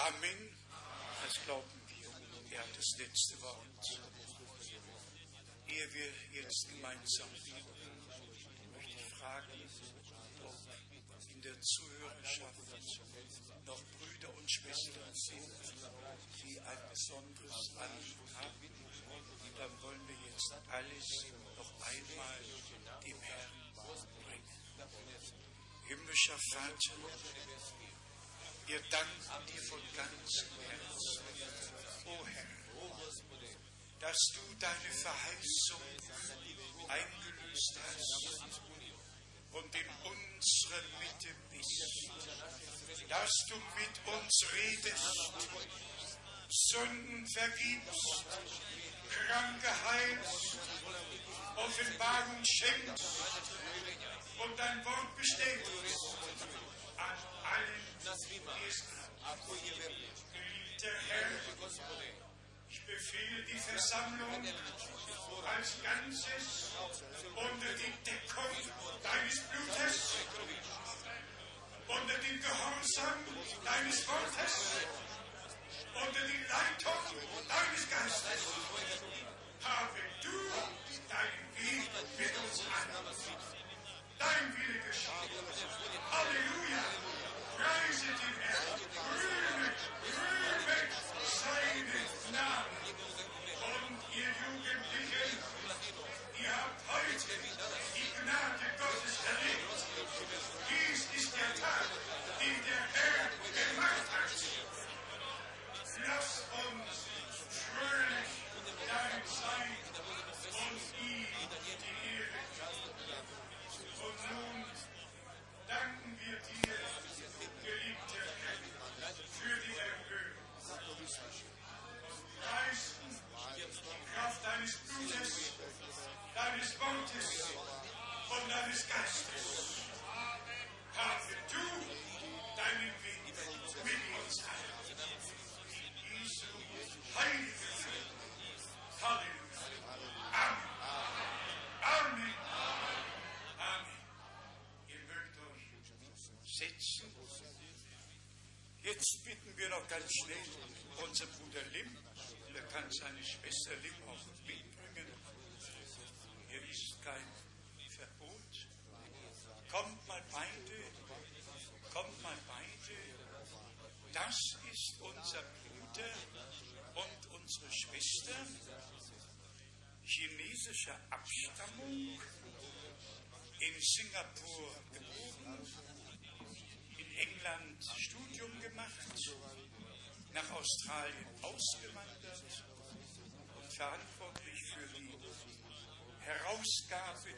Amen. Das glauben wir. Er hat das letzte Wort. Ehe wir jetzt gemeinsam beten, möchte ich fragen, ob in der Zuhörerschaft noch Brüder und Schwestern sind, die ein besonderes Anliegen haben. Dann wollen wir jetzt alles noch einmal dem Herrn bringen. Himmlischer Vater, wir danken dir von ganzem Herzen, o Herr, dass du deine Verheißung eingelöst hast und in unserer Mitte bist, dass du mit uns redest, Sünden vergibst, Kranke heilst, Offenbarung schenkst und dein Wort bestätigst an allen, die es haben. Geliebter Herr, ich befehle die Versammlung als Ganzes unter die Deckung deines Blutes, unter den Gehorsam deines Wortes, unter die Leitung deines Geistes. Habe du deinen Weg mit uns an. Dein Wille geschehe. Halleluja. Preise den Herrn. Rühme, rühme seinen Namen. Und ihr Jugendlichen, ihr habt heute die Gnade Gottes erlebt. Dies ist der Tag, den der Herr gemacht hat. Lass uns fröhlich darin sein und ihm die Ehre geben. Und nun danken wir dir, geliebter Herr, für die Erhöhung. Und preisen die Kraft deines Blutes, deines Wortes und deines Geistes. Habe du deinen Weg mit uns an. In Jesu heiligen Namen. Halleluja. Amen. Amen. Amen. Ihr mögt euch setzen. Jetzt bitten wir noch ganz schnell unseren Bruder Lim. Er kann seine Schwester Lim auch mitbringen. Hier ist kein Verbot. Kommt mal beide. Kommt mal beide. Das ist unser Bruder und unsere Schwester chinesischer Abstammung, in Singapur geboren, in England Studium gemacht, nach Australien ausgewandert und verantwortlich für die Herausgabe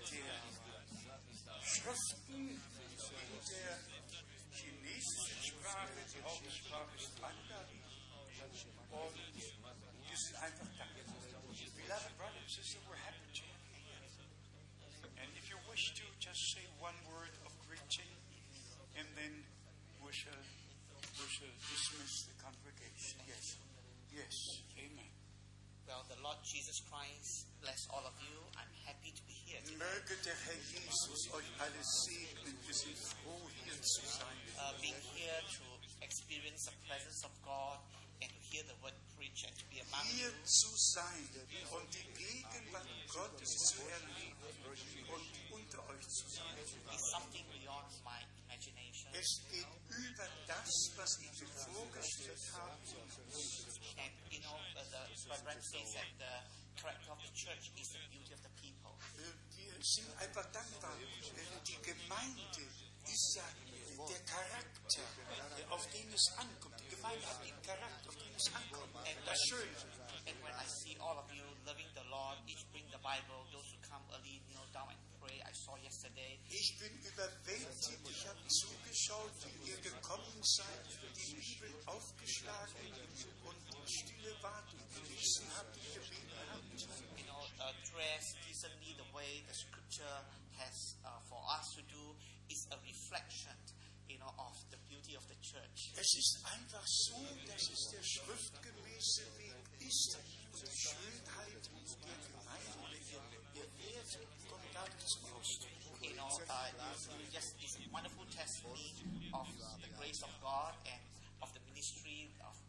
der Schriften in der chinesischen Sprache. Die Hauptsprache ist Mandarin. Und wir sind einfach dankbar. Beloved brothers and sisters, we're happy to have you here. And if you wish to, just say one word of greeting, and then we shall, we shall dismiss the congregation. Yes. Yes. Amen. Well, the Lord Jesus Christ bless all of you. I'm happy to be here today. Möge der Herr Jesus euch alle segnen. Wir sind froh, hier zu sein. Uh, being here to experience the presence of God and to hear the word preached and to be among Hier you zu sein und die Gegenwart Gottes zu erleben und unter euch zu sein. is something beyond my imagination. Es geht über das, was ich mir vorgestellt habe. And you know, uh, the my friend says that the character of the church is the beauty of the people. Wir sind einfach dankbar. Die Gemeinde ist ja der Charakter, auf den es ankommt. Die Gemeinde hat den Charakter, auf den es ankommt. Das ist schön. And when I see all of you loving the Lord, each bring the Bible, those who come early kneel down and pray. I saw yesterday. Ich bin überwältigt. Ich habe zugeschaut, wie ihr gekommen seid, die Bibel aufgeschlagen und stille Wartung gelesen habt, gebeten habt. You know, uh, dress decently the way the Scripture has uh, for us to do is a reflection, you know, of the beauty of the church. Es ist einfach so, dass es der schriftgemäße Weg ist und die Schönheit der Gemeinde oder ihr, ihr Wert kommt dadurch zum Ausdruck. You know, uh, it's just this wonderful testimony of the grace of God and of the ministry of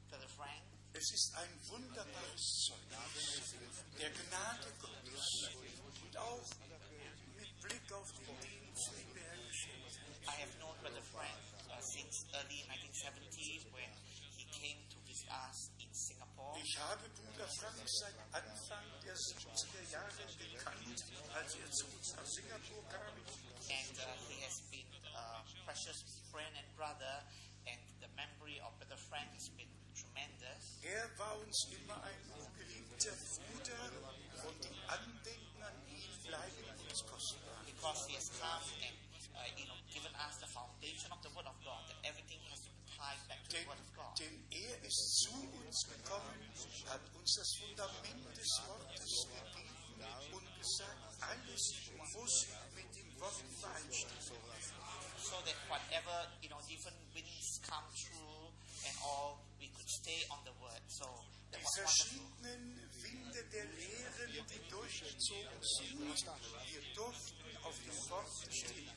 es ist ein wunderbares Zeugnis der Gnade Gottes und auch mit Blick auf den Dienst, den der Herr geschenkt hat. I have known Brother Frank uh, since early nineteen seventies when he came to visit us in Singapore. Ich habe Bruder Frank seit Anfang der siebziger Jahre gekannt, als er zu uns nach Singapur kam. And uh, he has been a precious friend and brother, and the memory of Brother Frank has been tremendous. Er war uns immer ein geliebter Bruder und die Andenken an ihn bleiben uns kostbar. Because he has come and uh, you know given us the foundation of the Word of God, that everything has to be tied back to Denn, the Word of God. denn er ist zu uns gekommen, hat uns das Fundament des Wortes gegeben und gesagt, alles muss mit dem Wort übereinstimmen. So that whatever you know different winds come through and all, we could stay on the Word. So that Die was wonderful. verschiedenen Winde der Lehren, die durchgezogen sind, wir durften auf dem Wort stehen.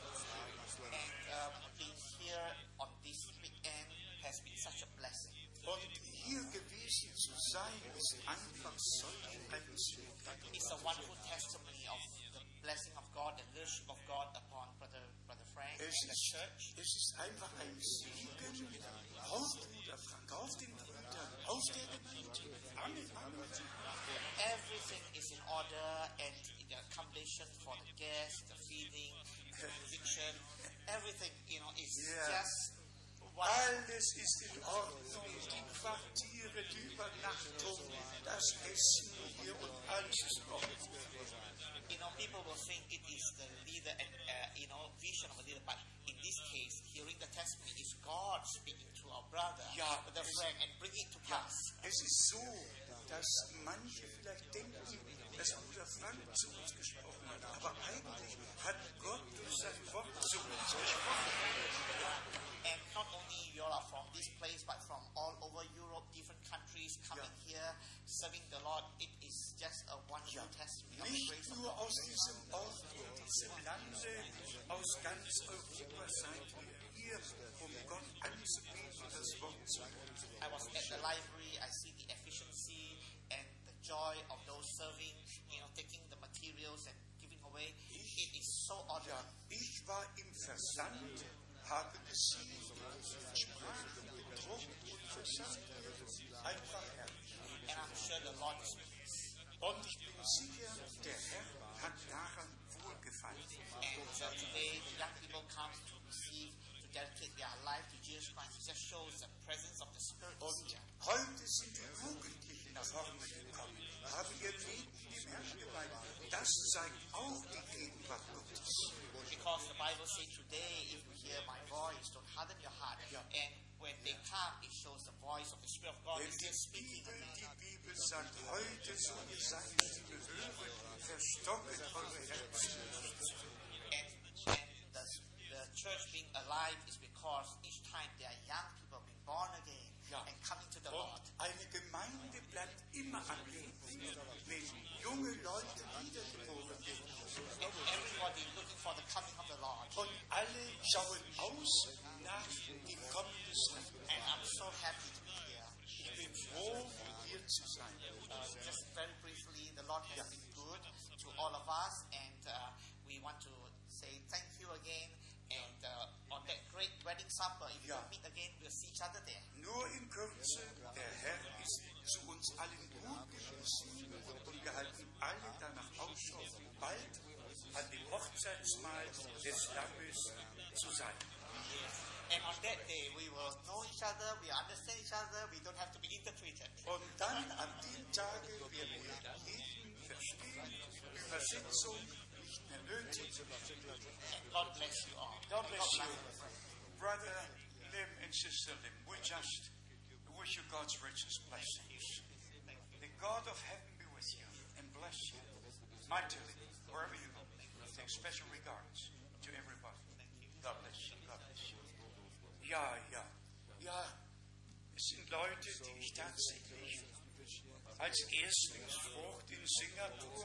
And uh, being here on this weekend has been such a blessing. Und hier gewesen zu sein, ist einfach solch ein Segen. It's a wonderful testimony of the blessing of God, the leadership of God upon Brother Brother Frank Es and the ist, church. es ist einfach ein Segen auf Bruder Frank, auf den Brüdern, auf der Gemeinde. Amen, Amen. Everything is in order, and the accommodation for the guests, the feeding, the musician, everything you know is Yeah. just wonderful. Alles ist in Ordnung, die Quartiere, die Übernachtung, das Essen hier und alles ist in Ordnung. You know, people will think it is the leader and uh, you know vision of a leader, but in this case, hearing the testimony is God speaking to our brother, Ja, Brother es- Frank, and bringing it to Ja, pass. es ist so, dass manche vielleicht denken, dass Bruder Frank zu uns gesprochen hat, aber eigentlich hat Gott durch sein Wort zu uns gesprochen. And not only you all are from this place, but from all over Europe, different countries coming here, serving the Lord. It is just a wonderful testimony of the Nicht grace of nur God. aus diesem Ort und diesem Lande, aus ganz Europa seid ihr hier, um Gott anzubeten und das Wort zu hören. I was at the library. I see the efficiency and the joy of those serving. You know, taking the materials and giving away. It is so Ja, honored. ich war im Versand, habe gesehen, Sprachen gedruckt und versandt. Einfach herrlich. And I'm sure the Lord is pleased. Und ich bin sicher, der Herr hat daran wohlgefallen. And uh, today, the young people come to receive, to dedicate their life to Jesus Christ. It just shows the presence of the Spirit is Und here. heute sind die Jugendlichen nach vorne gekommen, haben ihr Leben dem Herrn geweiht. Das zeigt auch die Gegenwart Gottes. Because the Bible says today, if you hear my voice, don't harden your heart. And when they come, it shows the voice of the Spirit of God Denn is die still speaking. Bibel, die Bibel sagt, heute so ihr seid die Gehöre, verstocket eure Herzen nicht. And, and the, the church being alive is because each time there are young people being born again Ja. and coming to the Und Lord. eine Gemeinde bleibt immer am Leben, wenn junge Leute wiedergeboren werden. And everybody looking for the coming of the Lord. Und alle schauen aus nach dem Kommen des Herrn. And I'm so happy to be here. Ich bin froh, hier zu sein. Uh, just very briefly, the Lord has been good to all of us, and uh, we want to say thank you again. And uh, on that great wedding supper, if Ja. we meet again, we'll see each other there. Nur in Kürze, der Herr ist zu uns allen gut gewesen und wir halten alle danach Ausschau, bald an dem Hochzeitsmahl des Lammes zu sein. And on that day, we will know each other, we understand each other, we don't have to be interpreted. Und dann an dem Tage werden wir jeden verstehen, Übersetzung nicht mehr nötig. And God bless you all. God bless you. you. Brother Lim and Sister Lim, we just wish you God's richest blessings. The God of heaven be with you and bless you mightily wherever you go. Take special regards to everybody. God bless you. God bless you. Ja, ja, ja. Es sind Leute, die ich tatsächlich als Erstlingsfrucht in Singapur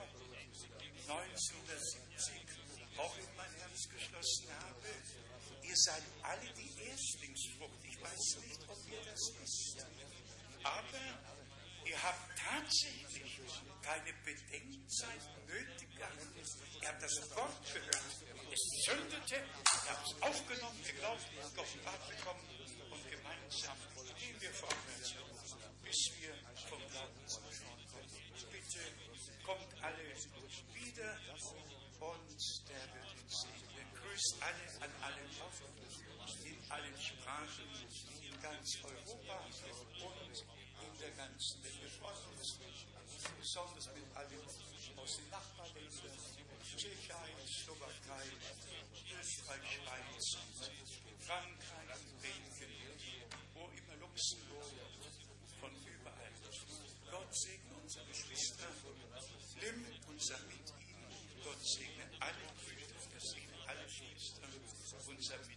neunzehnhundertsiebzig auch in mein Herz geschlossen habe. Ihr seid alle die Erstlingsfrucht. Ich weiß nicht, ob ihr das wisst. Aber ihr habt tatsächlich keine Bedenkzeit nötig gehabt. Ihr habt das Wort gehört. Es zündete, ihr habt es aufgenommen, geglaubt, geoffenbart bekommen und gemeinsam gehen wir vorwärts, bis wir vom Glauben zurückkommen. Bitte kommt alle wieder und der wird uns segnen. Grüßt alle an allen Orten, in allen Sprachen, in ganz Europa und in der ganzen Welt. Wir freuen uns besonders mit allen aus den Nachbarländern, Tschechien, Slowakei, Österreich, Schweiz, Frankreich, Belgien, wo immer Luxemburg, von überall. Gott segne unsere Geschwister, nimm unser mit ihnen. Gott segne alle Brüder, segne alle Schwestern, unser mit